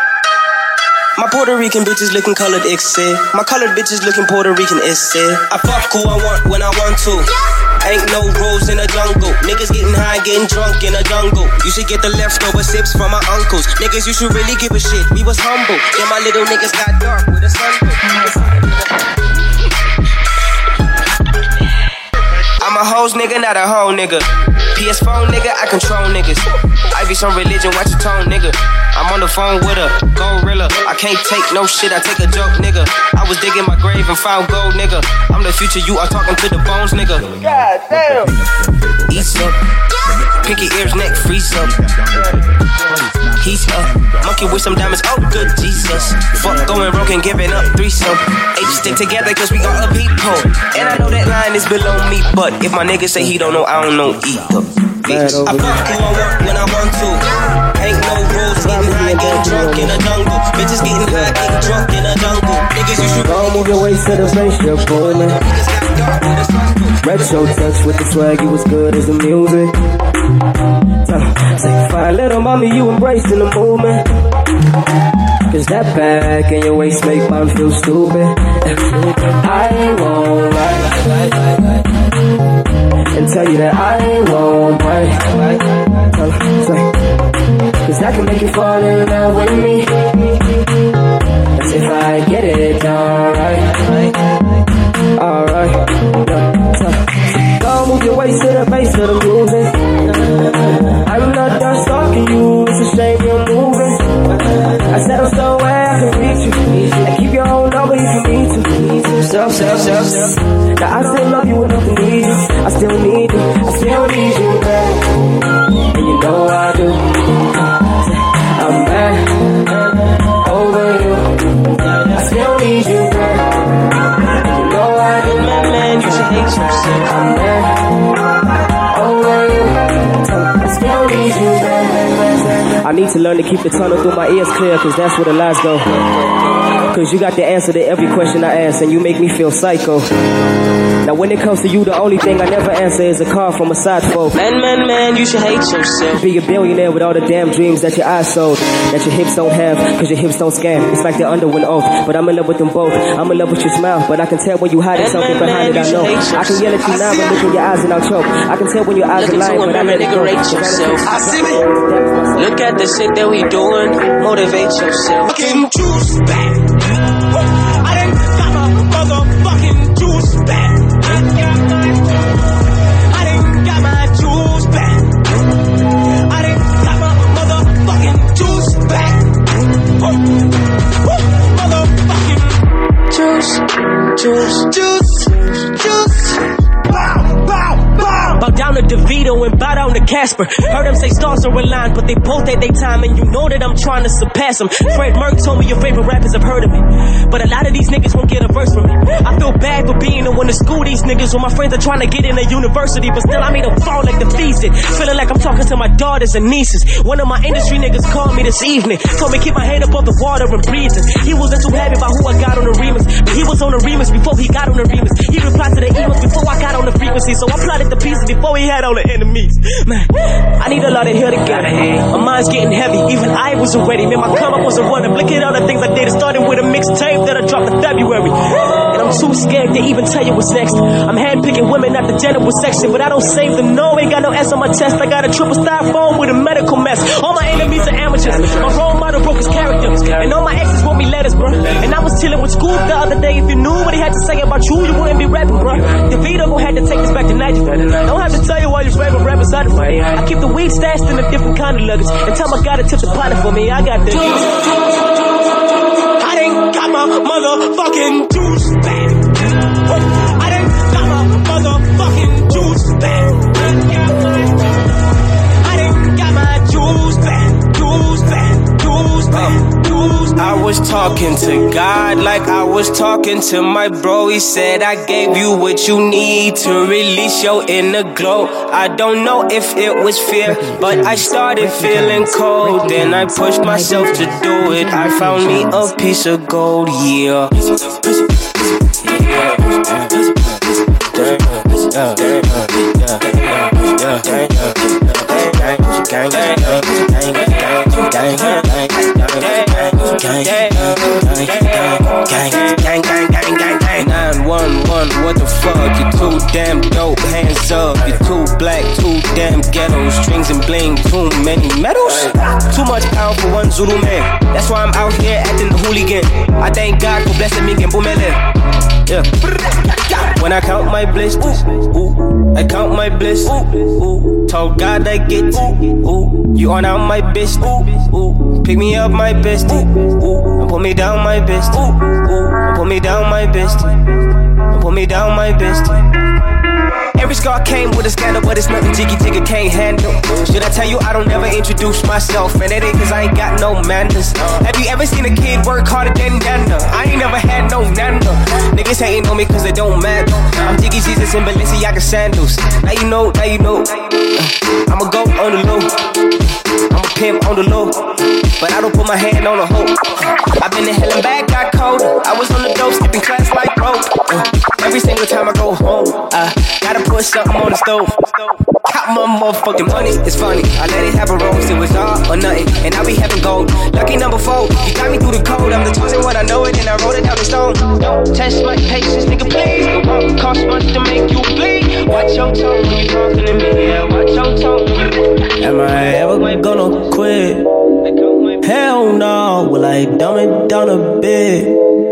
My Puerto Rican bitches looking colored, it's it. My colored bitches looking Puerto Rican, it's it. I fuck who I want when I want to. Ain't no rules in the jungle. Niggas getting high, getting drunk in the jungle. You should get the leftover sips from my uncles. Niggas, you should really give a shit. We was humble. Then my little niggas got dark with a sun. I'm a hoes nigga, not a hoe nigga. PS4, nigga, I control niggas. I be some religion, watch your tone, nigga. I'm on the phone with a gorilla. I can't take no shit, I take a joke, nigga. I was digging my grave and found gold, nigga. I'm the future, you are talking to the bones, nigga. God damn. East up, pinky ears, neck, freeze up. He's up, monkey with some diamonds, oh good Jesus. Fuck going broke and giving up threesome. Hey, just stick together cause we are a people. And I know that line is below me, but if my nigga say he don't know, I don't know either. Bitch, I fuck who I want when I want to. Ain't no rules, getting high, getting drunk in the jungle. Bitches getting high, getting drunk in the jungle. Niggas, you should go move your waist to the bass, you're booming. Retro touch with the swag, you as good as the music. Say, fine little mommy, you embracing the movement. Cause that back in your waist make mine feel stupid. I ain't gon' lie and tell you that I ain't gon' break. Cause I can make you fall in love with me. That's if I get it done right. Alright. Go move your waist to the bass of the music. I'm not done stalking you, it's a shame you're moving. I said I'm so where I can reach you. And keep your own number if you need to. Self. Now I still love you enough to need you. I still need you, I still need you, babe. And you know I do. I'm mad over you. I still need you, babe. And you know I do. Man, you should hate yourself. I'm mad over you. I still need you, babe. I need to learn to keep the tunnel through my ears clear, cause that's where the lies go. Cause you got the answer to every question I ask, and you make me feel psycho. Now when it comes to you, the only thing I never answer is a call from a side folk. Man, you should hate yourself. Be a billionaire with all the damn dreams that your eyes sold, that your hips don't have, cause your hips don't scam. It's like they're under an oath, but I'm in love with them both. I'm in love with your smile, but I can tell when you hiding something behind it, I know. I can yell at you now, but look in your eyes and I'll choke. I can tell when your eyes are lying, but I let it go. I see it. Look at the shit that we doing, motivate yourself. Fucking juice back. I done got my motherfucking juice back. I done got my juice back. I done got my motherfucking juice back. Motherfucking juice. Bow down to DeVito and bow down to Casper. Heard them say stars are aligned, but they both at their time, and you know that I'm trying to surpass them. Fred Merck told me your favorite rappers have heard of me, but a lot of these niggas won't get a verse from me. I feel bad for being the one to school these niggas when my friends are trying to get in a university, but still I made them fall like the feasted. Feeling like I'm talking to my daughters and nieces. One of my industry niggas called me this evening, told me keep my head above the water and breathing. He wasn't too happy about who I got on the remix, but he was on the remix before he got on the remix. He replied to the emails before I got on the frequency, so I plotted the pieces before he had all the enemies. Man, I need a lot of hair together. My mind's getting heavy, even I wasn't ready. Man, my come up wasn't running. Look at all the things I did. It started with a mixtape that I dropped in February, and I'm too scared to even tell you what's next. I'm handpicking women at the general section, but I don't save them. No, ain't got no S on my chest. I got a triple styrofoam with a medical mess. All my enemies are amateurs. My role model broke his character, and all my exes wrote me letters, bro. And I was chilling with Scoop the other day. If you knew what he had to say about you, you wouldn't be rapping, bro. DeVito gon' have to take this back to Nigeria. Don't have to tell you all your favorite rappers out of me. I keep the weed stashed in a different kind of luggage, and tell my guy to tip the pot for me. I got the juice. I done got my motherfucking juice back. I done got my motherfucking juice back. I done got my juice back. Juice back. Juice back. Juice back. I was talking to God like I was talking to my bro. He said I gave you what you need to release your inner glow. I don't know if it was fear, but I started feeling cold. Then I pushed myself to do it. I found me a piece of gold, yeah. Gang. 911, what the fuck? You're too damn dope, hands up. You're too black, too damn ghetto. Strings and bling, too many medals. Too much power for one Zulu man. That's why I'm out here acting the hooligan. I thank God for blessing me and boomele. Yeah. When I count my blisters, I count my bliss. Told God I get you on out my bitch. Pick me up my bestie, and put me down my bestie, and put me down my bestie, and put me down my bestie. Every scar came with a scandal, but it's nothing Jiggy Jigga can't handle. Should I tell you I don't never introduce myself? And it ain't cause I ain't got no manners. Have you ever seen a kid work harder than Nana? I ain't never had no Nana. Niggas hating on me cause it don't matter. I'm Jiggy Jesus in Balenciaga sandals. Now you know, I'ma go on the low. I'm a pimp on the low, but I don't put my hand on a hoe. I've been to hell and back, got cold. I was on the dope, skipping class like rope. Every single time I go home, I gotta put something on the stove. Count my motherfucking money, it's funny. I let it happen wrong, it was all or nothing. And I be having gold. Lucky number 4, you got me through the code. I'm the chosen one, I know it, and I wrote it down in stone. Don't test my patience, nigga, please. It won't cost much to make you bleed. Watch your tone when you talking to me, yeah, watch your tone. Am I ever gonna quit? Hell no. Will I dumb it down a bit?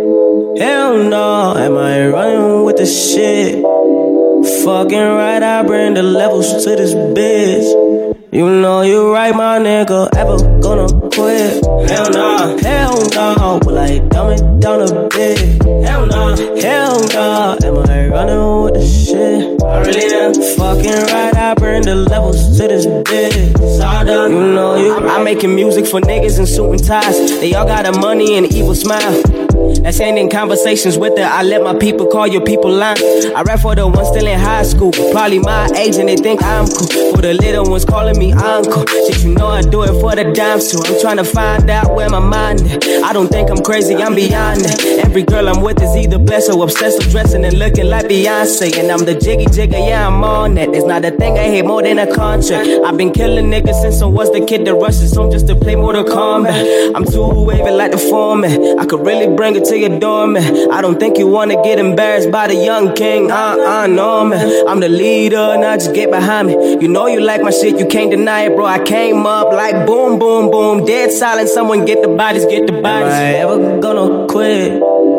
Hell no. Am I running with the shit? Fucking right, I bring the levels to this bitch. You know you right, my nigga. Ever gonna quit? Hell no. Hell no. Will I dumb it down a bit? Hell no. Hell no. Am I running with the shit? I really am. Fucking right, I bring the levels to this bitch. You know you. I'm making music for niggas in suit and ties. They all got a money and evil smile. That's ending conversations with her. I let my people call your people line. I rap for the ones still in high school, probably my age, and they think I'm cool. For the little ones calling me uncle. Shit, you know I do it for the dimes too. I'm trying to find out where my mind is. I don't think I'm crazy, I'm beyond that. Every girl I'm with is either blessed or obsessed with dressing and looking like Beyonce. And I'm the Jiggy Jigga, yeah, I'm on that. There's not a thing I hate more than a contract. I've been killing niggas since I was the kid that rushes home just to play Mortal Kombat. I'm too wavy like the foreman. I could really bring it to your door, man. I don't think you wanna get embarrassed by the young king. No, man. I'm the leader, now just get behind me. You know you like my shit, you can't deny it, bro. I came up like boom, boom, boom. Dead silent, someone get the bodies, get the bodies. Am I ever gonna quit?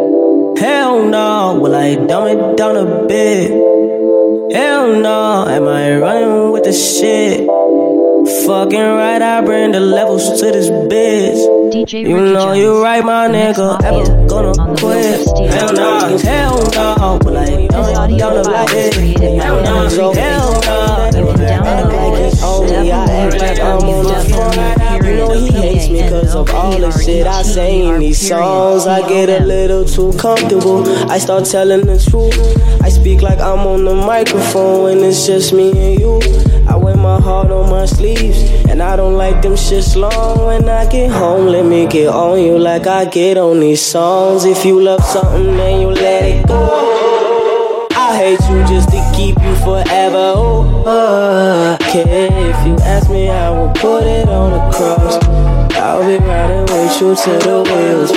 Hell no. Will I dumb it down a bit? Hell no. Am I running with the shit? Fucking right, I bring the levels to this bitch. DJ you Ricky know Jones, you right, my nigga. Ever gonna quit? Hell no, hell no. Will I dumb it down a bit? Hell no, hell no. Only I act like I'm on the front. You know he hates me cause of all the shit I say in these songs. I get a little too comfortable. I start telling the truth. I speak like I'm on the microphone when it's just me and you. I wear my heart on my sleeves, and I don't like them shits long. When I get home, let me get on you like I get on these songs. If you love something, then you let it go. I hate you just to keep you forever. Okay, if you ask me, I will put it on the cross. I'll be riding with you till the wheels.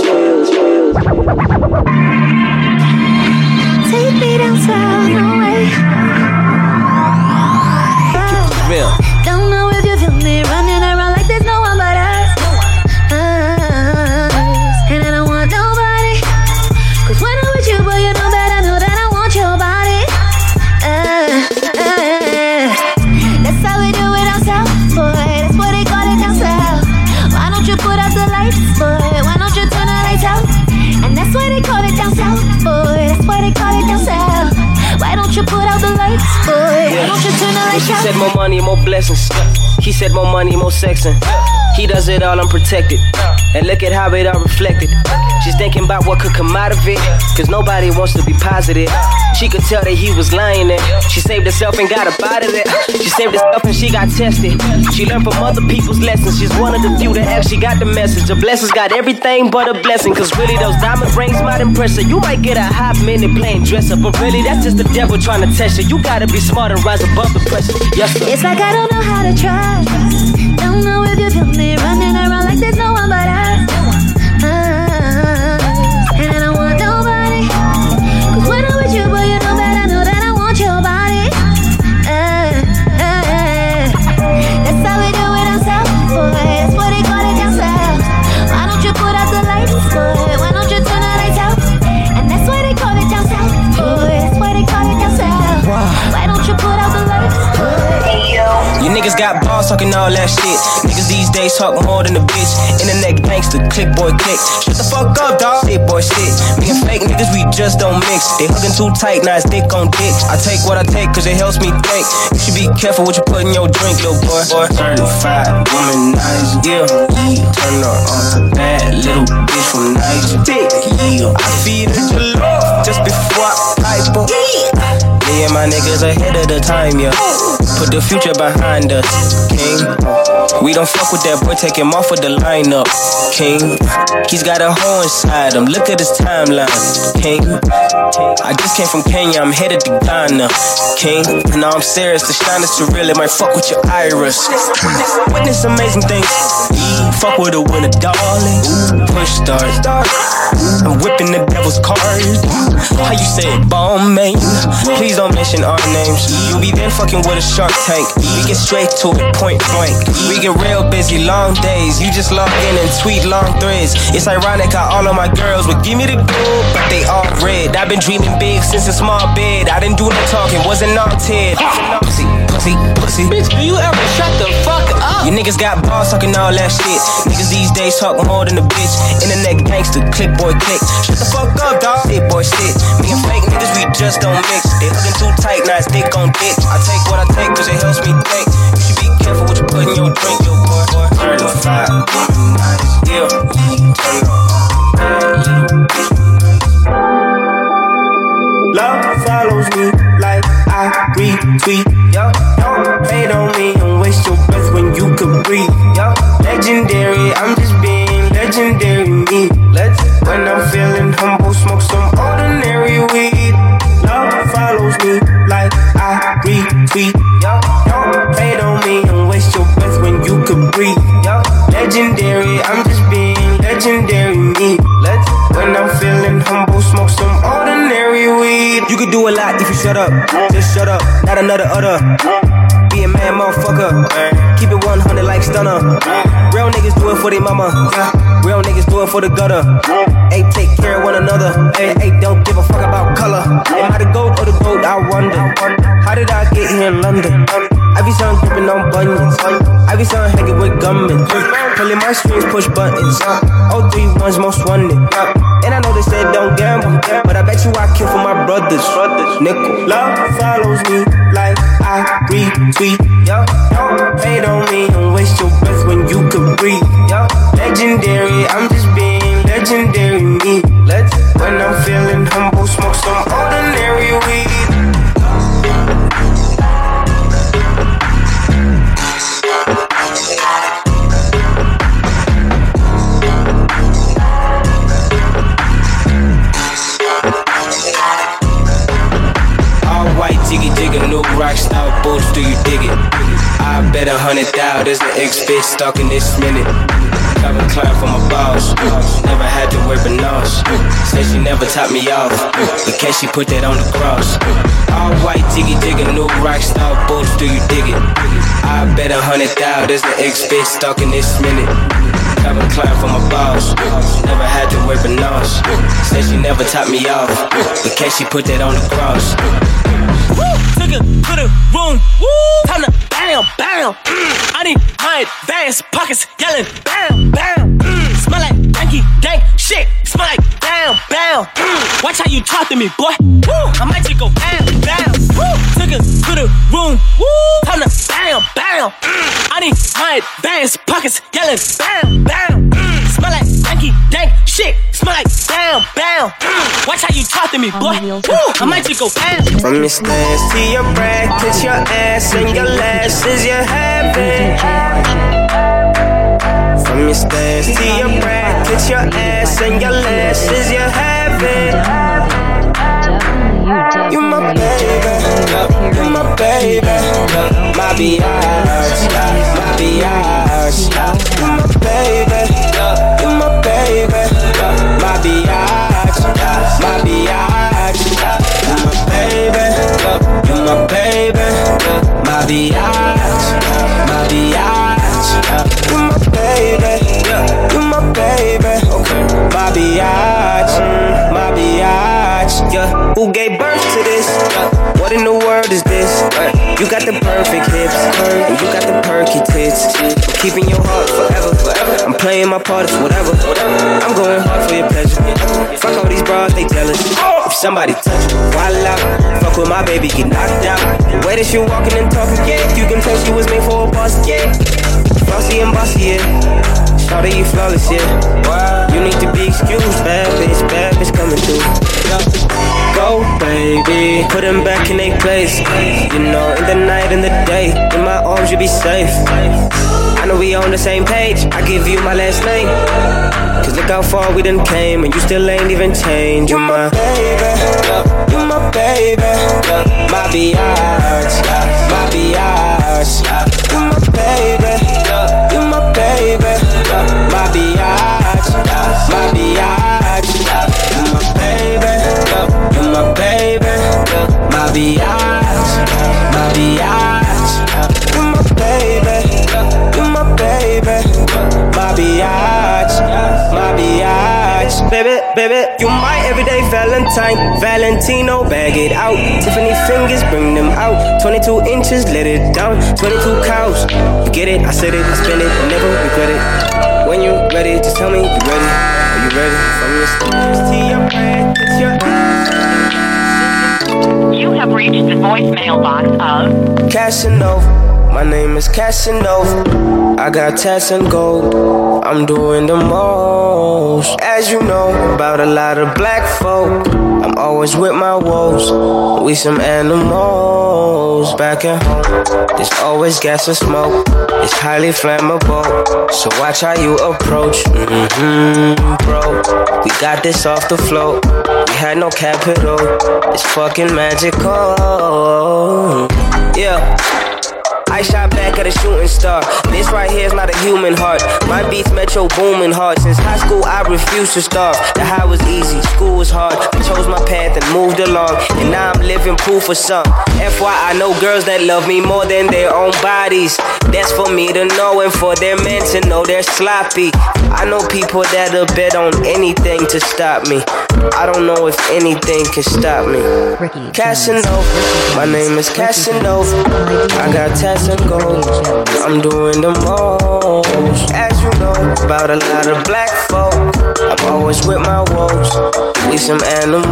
Take me down south, no way. Don't know if you feel me running around like there's no one but us. And I don't want nobody. Cause when I'm with you, boy, you know that I know that I want your body. That's how we do it down south, boy. That's what they call it down south. Why don't you put out the lights, boy? Why don't you turn the lights out? And that's why they call it down south, boy. That's why they call it down south. Why don't you put out the lights, boy? Why don't you turn the lights out? She said more money, more blessings. He said more money, more sexing. He does it all unprotected. And look at how it all reflected. She's thinking about what could come out of it. Cause nobody wants to be positive. She could tell that he was lying there. She saved herself and got up out of it. She saved herself and she got tested. She learned from other people's lessons. She's one of the few that actually got the message. A blessing's got everything but a blessing. Cause really those diamond rings might impress her. You might get a hot minute playing dress up. But really that's just the devil trying to test you. You gotta be smart and rise above the pressure. Yes sir. It's like I don't know how to trust. Don't know if you feel me running around like there's no one but us. And I don't want nobody. Cause when I'm with you, boy, you know that I know that I want your body. That's how we do it down south, boy. That's what they call it down south. Why don't you put out the lights, boy? Why don't you turn the lights out? And that's why they call it down south, boy. That's why talking all that shit. Niggas these days talk more than a bitch. Internet gangster, click boy click. Shut the fuck up, dawg. Shit boy shit. Me and fake niggas, we just don't mix. They hugging too tight, now it's dick on dick. I take what I take, cause it helps me think. You should be careful what you put in your drink, little boy. Certified womanizer, yeah. Turn her on, bad little bitch from Niger. Yeah, I feed her jollof just before I pipe her. Me and my niggas ahead of the time, yeah. Put the future behind us, king. We don't fuck with that boy, take him off of the lineup, king. He's got a hole inside him, look at his timeline, king. I just came from Kenya, I'm headed to Ghana, king. Now I'm serious, the shine is too real, it might fuck with your iris. Witness amazing things, fuck with a winner, darling. Push start, I'm whipping the devil's cards. How you say it, bomb man? Please don't mention our names. You be there fucking with a Shark Tank. We get straight to it, point blank. We get real busy, long days. You just log in and tweet long threads. It's ironic how all of my girls would give me the gold, but they all red. I've been dreaming big since a small bed. I didn't do no talking, wasn't all Ted. Pussy, pussy, pussy. Bitch, do you ever shut the fuck up? You niggas got balls talking all that shit. Niggas these days talk more than a bitch. Internet gangster, click boy click. Shut the fuck up, dawg. Shit boy shit. Me and fake niggas, we just don't mix. They hugging too tight, now it's dick on dick. I take what I take, cause it helps me think. You should be careful what you put in your drink, yo boy. Certified womanizer, yeah. Turn her on. Love follows me like I retweet. Yo, don't hate on me and waste your breath when you could breathe. Yo, legendary, I'm just being legendary me. When I'm feeling humble, smoke some ordinary weed. Love follows me like I retweet. Yo, don't hate on me and waste your breath when you could breathe. Yo, legendary, I'm just being legendary me. When I'm feeling humble, smoke some ordinary weed. You could do a lot if you shut up. Just shut up, not another other. Be a man, motherfucker. Keep it 100 like Stunner. Real niggas do it for their mama. Real niggas do it for the gutter. Hey, take care of one another. Hey, don't give a fuck about color. Am I the GOAT or the GOAT? I wonder. How did I get here in London? I be son gripping on bunions. I be son hanging with gunmen. Pulling my strings, push buttons. 031's most wanted. And I know they said don't gamble, but I bet you I kill for my brothers. Nickel. Love follows me like I retweet. Yo, don't hate on me and waste your breath when you could breathe. Yo, legendary, I'm just being legendary me. When I'm feeling humble, smoke some ordinary weed. Jiggy jigger, new rock style boots, do you dig it? I bet 100,000 there's an ex-bitch stalking this minute. Calvin Klein for my boss, never had to wear bananas. Said she never topped me off, in case she put that on the cross. All white jiggy jigger, new rock style boots, do you dig it? I bet 100,000 there's an ex-bitch stalking this minute. Calvin Klein for my boss, never had to wear bananas. Said she never topped me off, in case she put that on the cross. Took it to the room, time to bam, bam. I need my advanced pockets yelling bam, bam. Smell like danky, dank shit. Smell like bam, bam. Watch how you talk to me, boy. I might just go bam, bam. Took it to the room, time to bam, bam. I need my advanced pockets yelling bam, bam. Smell like danky, dank shit. Smell like bam, bam. Watch how you talk to me, boy. I might just go bam. From your stance to your brackets, your ass and your lashes, you have it. From your stance to your brackets, your ass and your lashes, you have it. You my baby, you my baby, my biatch, my biatch. You my baby, you my baby, my biatch, my biatch. You my baby, you my baby, my biatch, my biatch. You my baby, you my baby, my biatch, my biatch. Yeah, who gave birth to this? What in the world is this? You got the perfect hips, and you got the perky tits. chest. I'm keeping your heart forever. I'm playing my part, it's whatever. I'm going hard for your pleasure. Fuck all these bras, they jealous. If somebody touch you, voila. Fuck with my baby, get knocked out. The way that she walking and talking, yeah, you can tell she was made for a boss, yeah. Flossy and bossy, yeah. Shawty, you flawless, yeah. You need to be excused, bad bitch coming through. Go, baby, put them back in their place. You know, in the night and the day, in my arms you be safe. I know we on the same page, I give you my last name. Cause look how far we done came, and you still ain't even changed. You're my baby, you're my baby, my biatch, my biatch. You're my baby, you're my baby, my biatch, my biatch. You're my baby, you're my baby, my biatch, my biatch. You're my baby, you're my baby, my biatch, my biatch. Baby, you my everyday Valentino, bag it out. Tiffany fingers, bring them out. 22 inches, let it down. 22 cows, you get it, I said it, I spend it, never regret it. When you ready, just tell me you ready. Are you ready? From your steps to your head, it's your You have reached the voicemail box of Casanova. My name is Casanova. I got tats and gold. I'm doing the most. As you know, about a lot of black folk. I'm always with my woes. We some animals. Back at home, there's always gas and smoke. It's highly flammable, so watch how you approach. Bro, we got this off the float. We had no capital. It's fucking magical. Yeah. I shot back at a shooting star. This right here is not a human heart. My beats metro booming hard. Since high school I refused to starve. The high was easy, school was hard. I chose my path and moved along, and now I'm living proof of something. FYI, I know girls that love me more than their own bodies. That's for me to know and for their men to know they're sloppy. I know people that'll bet on anything to stop me. I don't know if anything can stop me. Casanova, my name is Casanova. I got tats and gold. I'm doing the most. As you know, about a lot of black folk. I'm always with my woes. We some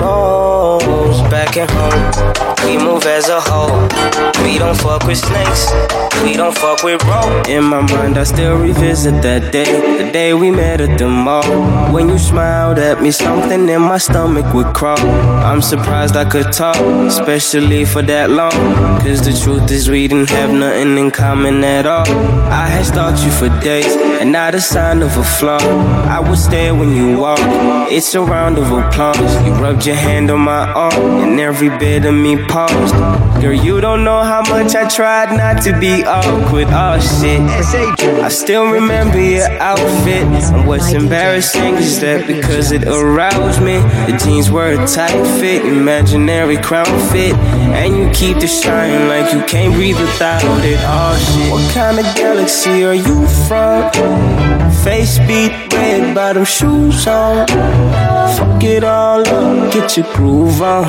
animals. Back at home, we move as a whole. We don't fuck with snakes. We don't fuck with rope. In my mind, I still revisit that day. The day we met at the mall. When you smiled at me, something in my stomach would crawl. I'm surprised I could talk, especially for that long. Cause the truth is we didn't have nothing in common at all. I had stalked you for days, and not a sign of a flaw. I would stare when you walk. It's a round of applause. You rubbed your hand on my arm, and every bit of me paused. Girl, you don't know how much I tried not to be awkward. Oh shit, I still remember your outfit. And what's embarrassing is that because it aroused me, the jeans were a tight fit, imaginary crown fit, and you keep the shine like you can't breathe without it. Oh shit, what kind of galaxy are you from? Face beat, red bottom shoes on. Fuck it all up, get your groove on.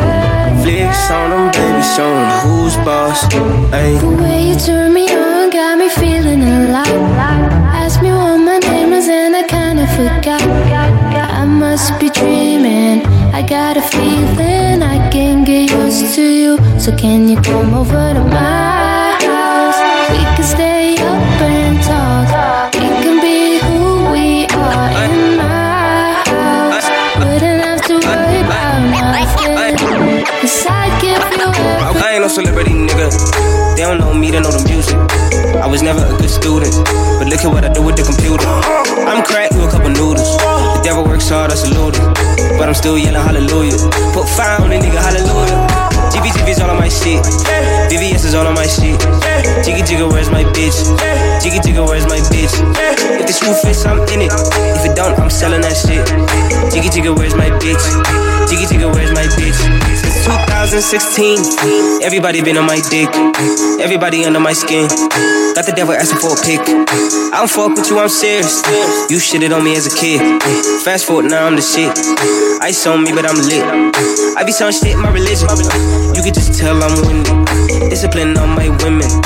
Flicks on them, baby, show them who's boss. Ay. The way you turn me on got me feeling alive. Ask me what my name is and I kinda forgot. I must be dreaming. I got a feeling I can get used to you. So can you come over to my house? We can stay up and talk. We can be who we are in my house. Wouldn't have to worry about nothing. Cause I give you everything. I ain't no celebrity, nigga. They don't know me, they know the music. I was never a good student, but look at what I do with the computer. I'm cracked with a couple noodles. The devil works hard, I salute it. But I'm still yelling hallelujah. Put fire on it, nigga, hallelujah. GB's all on my shit. VVS is all on my shit. Jiggy jigga, where's my bitch? Jiggy jigga, where's my bitch? If the shoe fits, I'm in it. If it don't, I'm selling that shit. Jiggy jigga, where's my bitch? Jiggy jigga, where's my bitch? Since 2016, everybody been on my dick. Everybody under my skin. Got the devil asking for a pic. I don't fuck with you, I'm serious. You shitted on me as a kid. Fast forward, now I'm the shit. Ice on me, but I'm lit. I be selling shit in my religion. You can just tell I'm winning. Discipline on my women.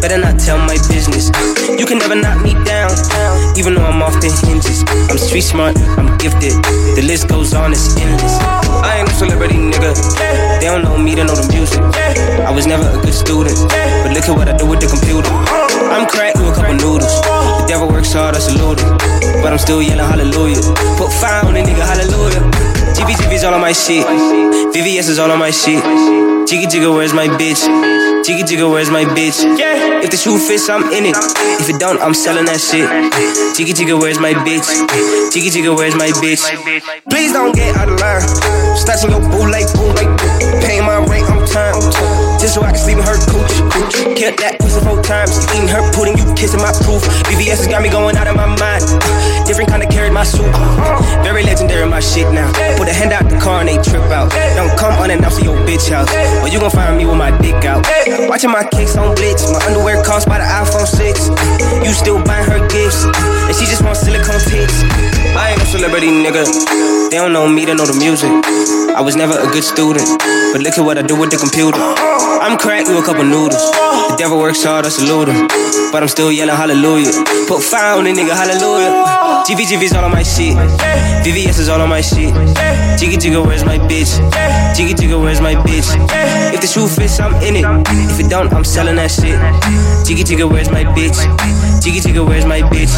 better not tell my business. You can never knock me down, even though I'm off the hinges. I'm street smart, I'm gifted. The list goes on, it's endless. I ain't a celebrity, nigga. They don't know me, they know the music. I was never a good student, but look at what I do with the computer. I'm cracked with a couple noodles. The devil works hard, I salute it. But I'm still yelling hallelujah. Put fire on the nigga, hallelujah. GB's all on my shit. VVS is all on my shit. Jiggy Jigga, where's my bitch? Jiggy Jigga, where's my bitch? If the shoe fits, I'm in it. If it don't, I'm selling that shit. Jiggy Jigga, where's my bitch? Jiggy Jigga, where's my bitch? Please don't get out of line. Snatching your boo like boo. Paying my rent on time. Just so I can sleep in her cooch. Killed that pussy 4 times. You eating her pudding, you kissing my proof. BVS has got me going out of my mind. Different kind of carried my suit. Very legendary my shit now. Put a hand out the car and they trip out. Don't come unannounced to your bitch house, or you gon' find me with my dick out. Watching my kicks on Blitz. My underwear cost by the iPhone 6. You still buying her gifts, and she just want silicone tits. I ain't a celebrity, nigga. They don't know me, they know the music. I was never a good student, but look at what I do with the computer. I'm cracked with a couple noodles. The devil works hard, I salute him. But I'm still yelling hallelujah. Put fire on the nigga, hallelujah. GV's all on my shit. VVS is all on my shit. Jiggy Jigga, where's my bitch? Jiggy Jigga, where's my bitch? If the shoe fits, I'm in it. If it don't, I'm selling that shit. Jiggy Jigga, where's my bitch? Jiggy Jigga, where's my bitch?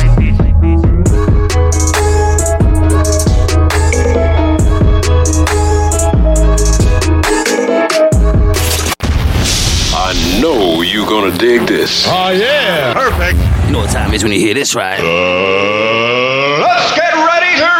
I know you're gonna dig this. Oh, yeah. Perfect. You know what time it is when you hear this, right? Let's get ready to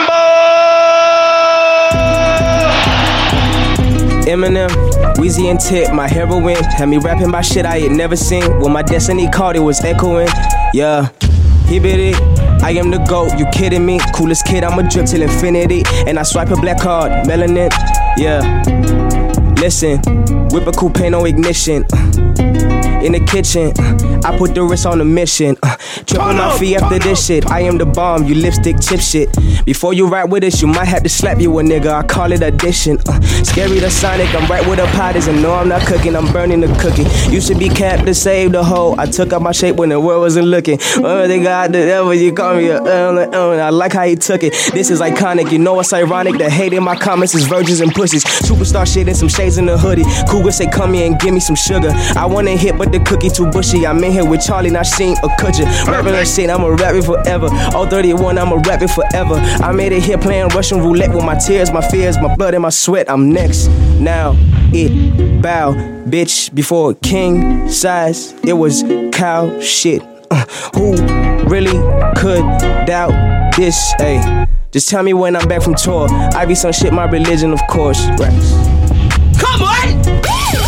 rumble! Eminem, Weezy and Tip, my heroine. Had me rapping my shit I had never seen. When my destiny called, it was echoing. Yeah, he bit it. I am the GOAT, you kidding me? Coolest kid, I'ma drip till infinity. And I swipe a black card, melanin. Yeah, listen, whip a coupe, no ignition. In the kitchen, I put the wrist on the mission. Triple my fee after this shit. I am the bomb, you lipstick chip shit. Before you ride with us, you might have to slap you a nigga. I call it addition. Scary the Sonic, I'm right with the potters. And no, I'm not cooking, I'm burning the cookie. Used to be capped to save the hoe. I took out my shape when the world wasn't looking. Oh, they got the devil, you call me I like how he took it. This is iconic, you know it's ironic. The hate in my comments is virgins and pussies. Superstar shit and some shades in the hoodie. Cougar say come here and give me some sugar. I wanna hit, but the cookie too bushy. I'm in here with Charlie, not Sheen or Kutcher. Rapping that shit, I'ma rap it forever. All 31, I'ma rap it forever. I made it here playing Russian roulette with my tears, my fears, my blood and my sweat. I'm next. Now, it bow, bitch. Before king size, it was cow shit. Who really could doubt this? Ay, just tell me when I'm back from tour. I be some shit, my religion, of course. Raps. Come on!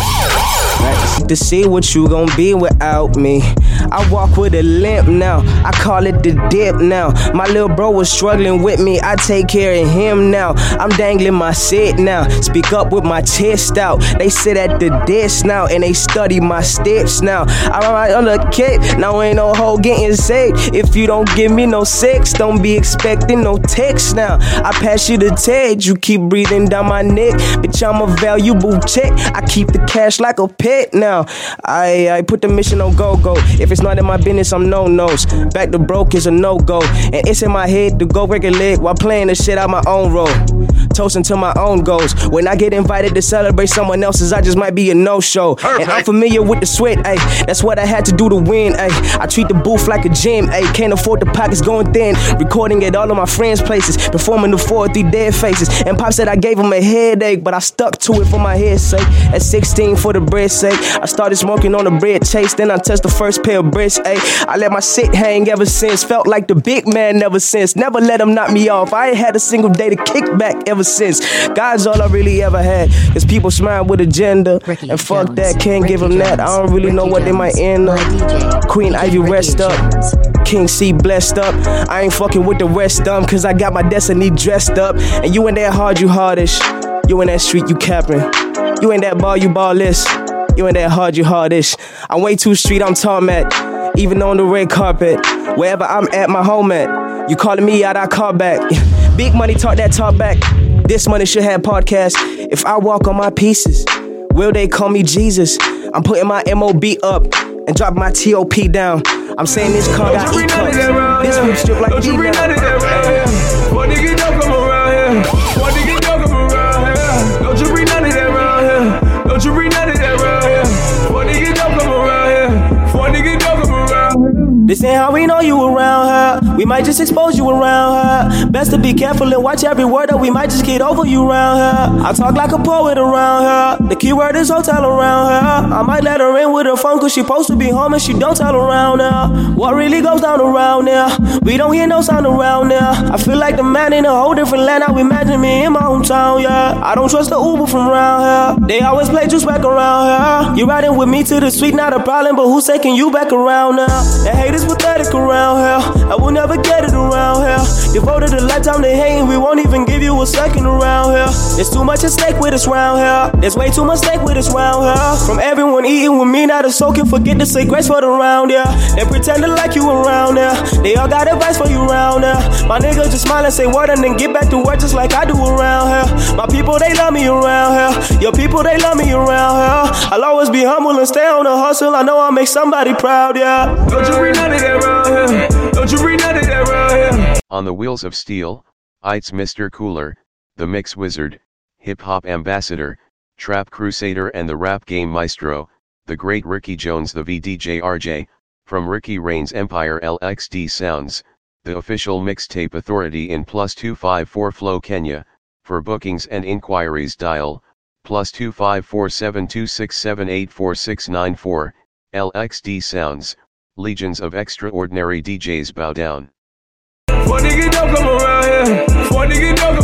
To see what you gon' be without me. I walk with a limp now, I call it the dip now. My little bro was struggling with me, I take care of him now. I'm dangling my sit now, speak up with my chest out. They sit at the desk now, and they study my steps now. I'm right on the kick, now ain't no hoe getting saved. If you don't give me no sex, don't be expecting no text now. I pass you the tag, you keep breathing down my neck. Bitch, I'm a valuable check, I keep the cash like a pet now. I put the mission on go-go. If it's not in my business, I'm no-nos. Back to broke is a no-go. And it's in my head to go break a leg while playing the shit out my own role. Toasting to my own goals. When I get invited to celebrate someone else's, I just might be a no-show. Perfect. And I'm familiar with the sweat, ayy. That's what I had to do to win, ayy. I treat the booth like a gym, ayy. Can't afford the pockets going thin. Recording at all of my friends' places. Performing the 4 or 3 dead faces. And Pop said I gave him a headache, but I stuck to it for my head's sake. At 16 for the bread's sake. I started smoking on the bread chase. Then I touched the first pair of breasts, ayy. I let my shit hang ever since. Felt like the big man never since. Never let him knock me off. I ain't had a single day to kick back ever since. God's all I really ever had. Cause people smile with agenda. Ricky and fuck Jones. that, can't Ricky give them that. I don't really Jones. know what they might end up. Queen Ivy rest up. King C blessed up. I ain't fucking with the rest dumb. Cause I got my destiny dressed up. And you in that hard, you hardish. You in that street, you capping. You in that bar, you ballless. You in that hard, you hardish. I'm way too street, I'm tarmac. Even on the red carpet. Wherever I'm at, my home at. You calling me out, I call back. Big money, talk that talk back. This money should have podcast. If I walk on my pieces, will they call me Jesus? I'm putting my MOB up. and drop my T.O.P. down. I'm saying this car got E-cups. This whip strip like D now. What nigga don't come around here? What nigga don't come around here? Don't you bring none of that around here? Don't you bring none of that around here? What nigga don't come around here? What nigga don't come around here? This ain't how we know you around her. We might just expose you around her. Best to be careful and watch every word, or we might just get over you around her. I talk like a poet around her. The key word is hotel around her. I might let her in with her phone, cause she supposed to be home and she don't tell around her. What really goes down around there? We don't hear no sound around there. I feel like the man in a whole different land. I imagine me in my hometown, yeah. I don't trust the Uber from around here. They always play juice back around here. You riding with me to the street, not a problem, but who's taking you back around now? The haters pathetic around here. I will never get it around here. Devoted a lifetime to hating, we won't even give you a second around here. There's too much at stake with us round here. There's way too much stake with us round here. From everyone eating with me, not a soul can forget to say grace for the round, yeah. They pretending like you around there. They all got advice for you around there. My niggas just smile and say word and then get back to work just like I do around here. My people, they love me around here. Your people, they love me around here. I'll always be humble and stay on the hustle. I know I'll make somebody proud, yeah. Don't you bring none of that around here? Don't you bring none of that around here? On the Wheels of Steel, it's Mr. Cooler, the Mix Wizard, Hip Hop Ambassador, Trap Crusader and the Rap Game Maestro, the Great Ricky Jones, the VDJ RJ, from Ricky Reigns Empire LXD Sounds, the official mixtape authority in +254 Flow Kenya. For bookings and inquiries dial +254 726 84694. LXD Sounds, legions of extraordinary DJs bow down. What nigga don't come around here? What nigga don't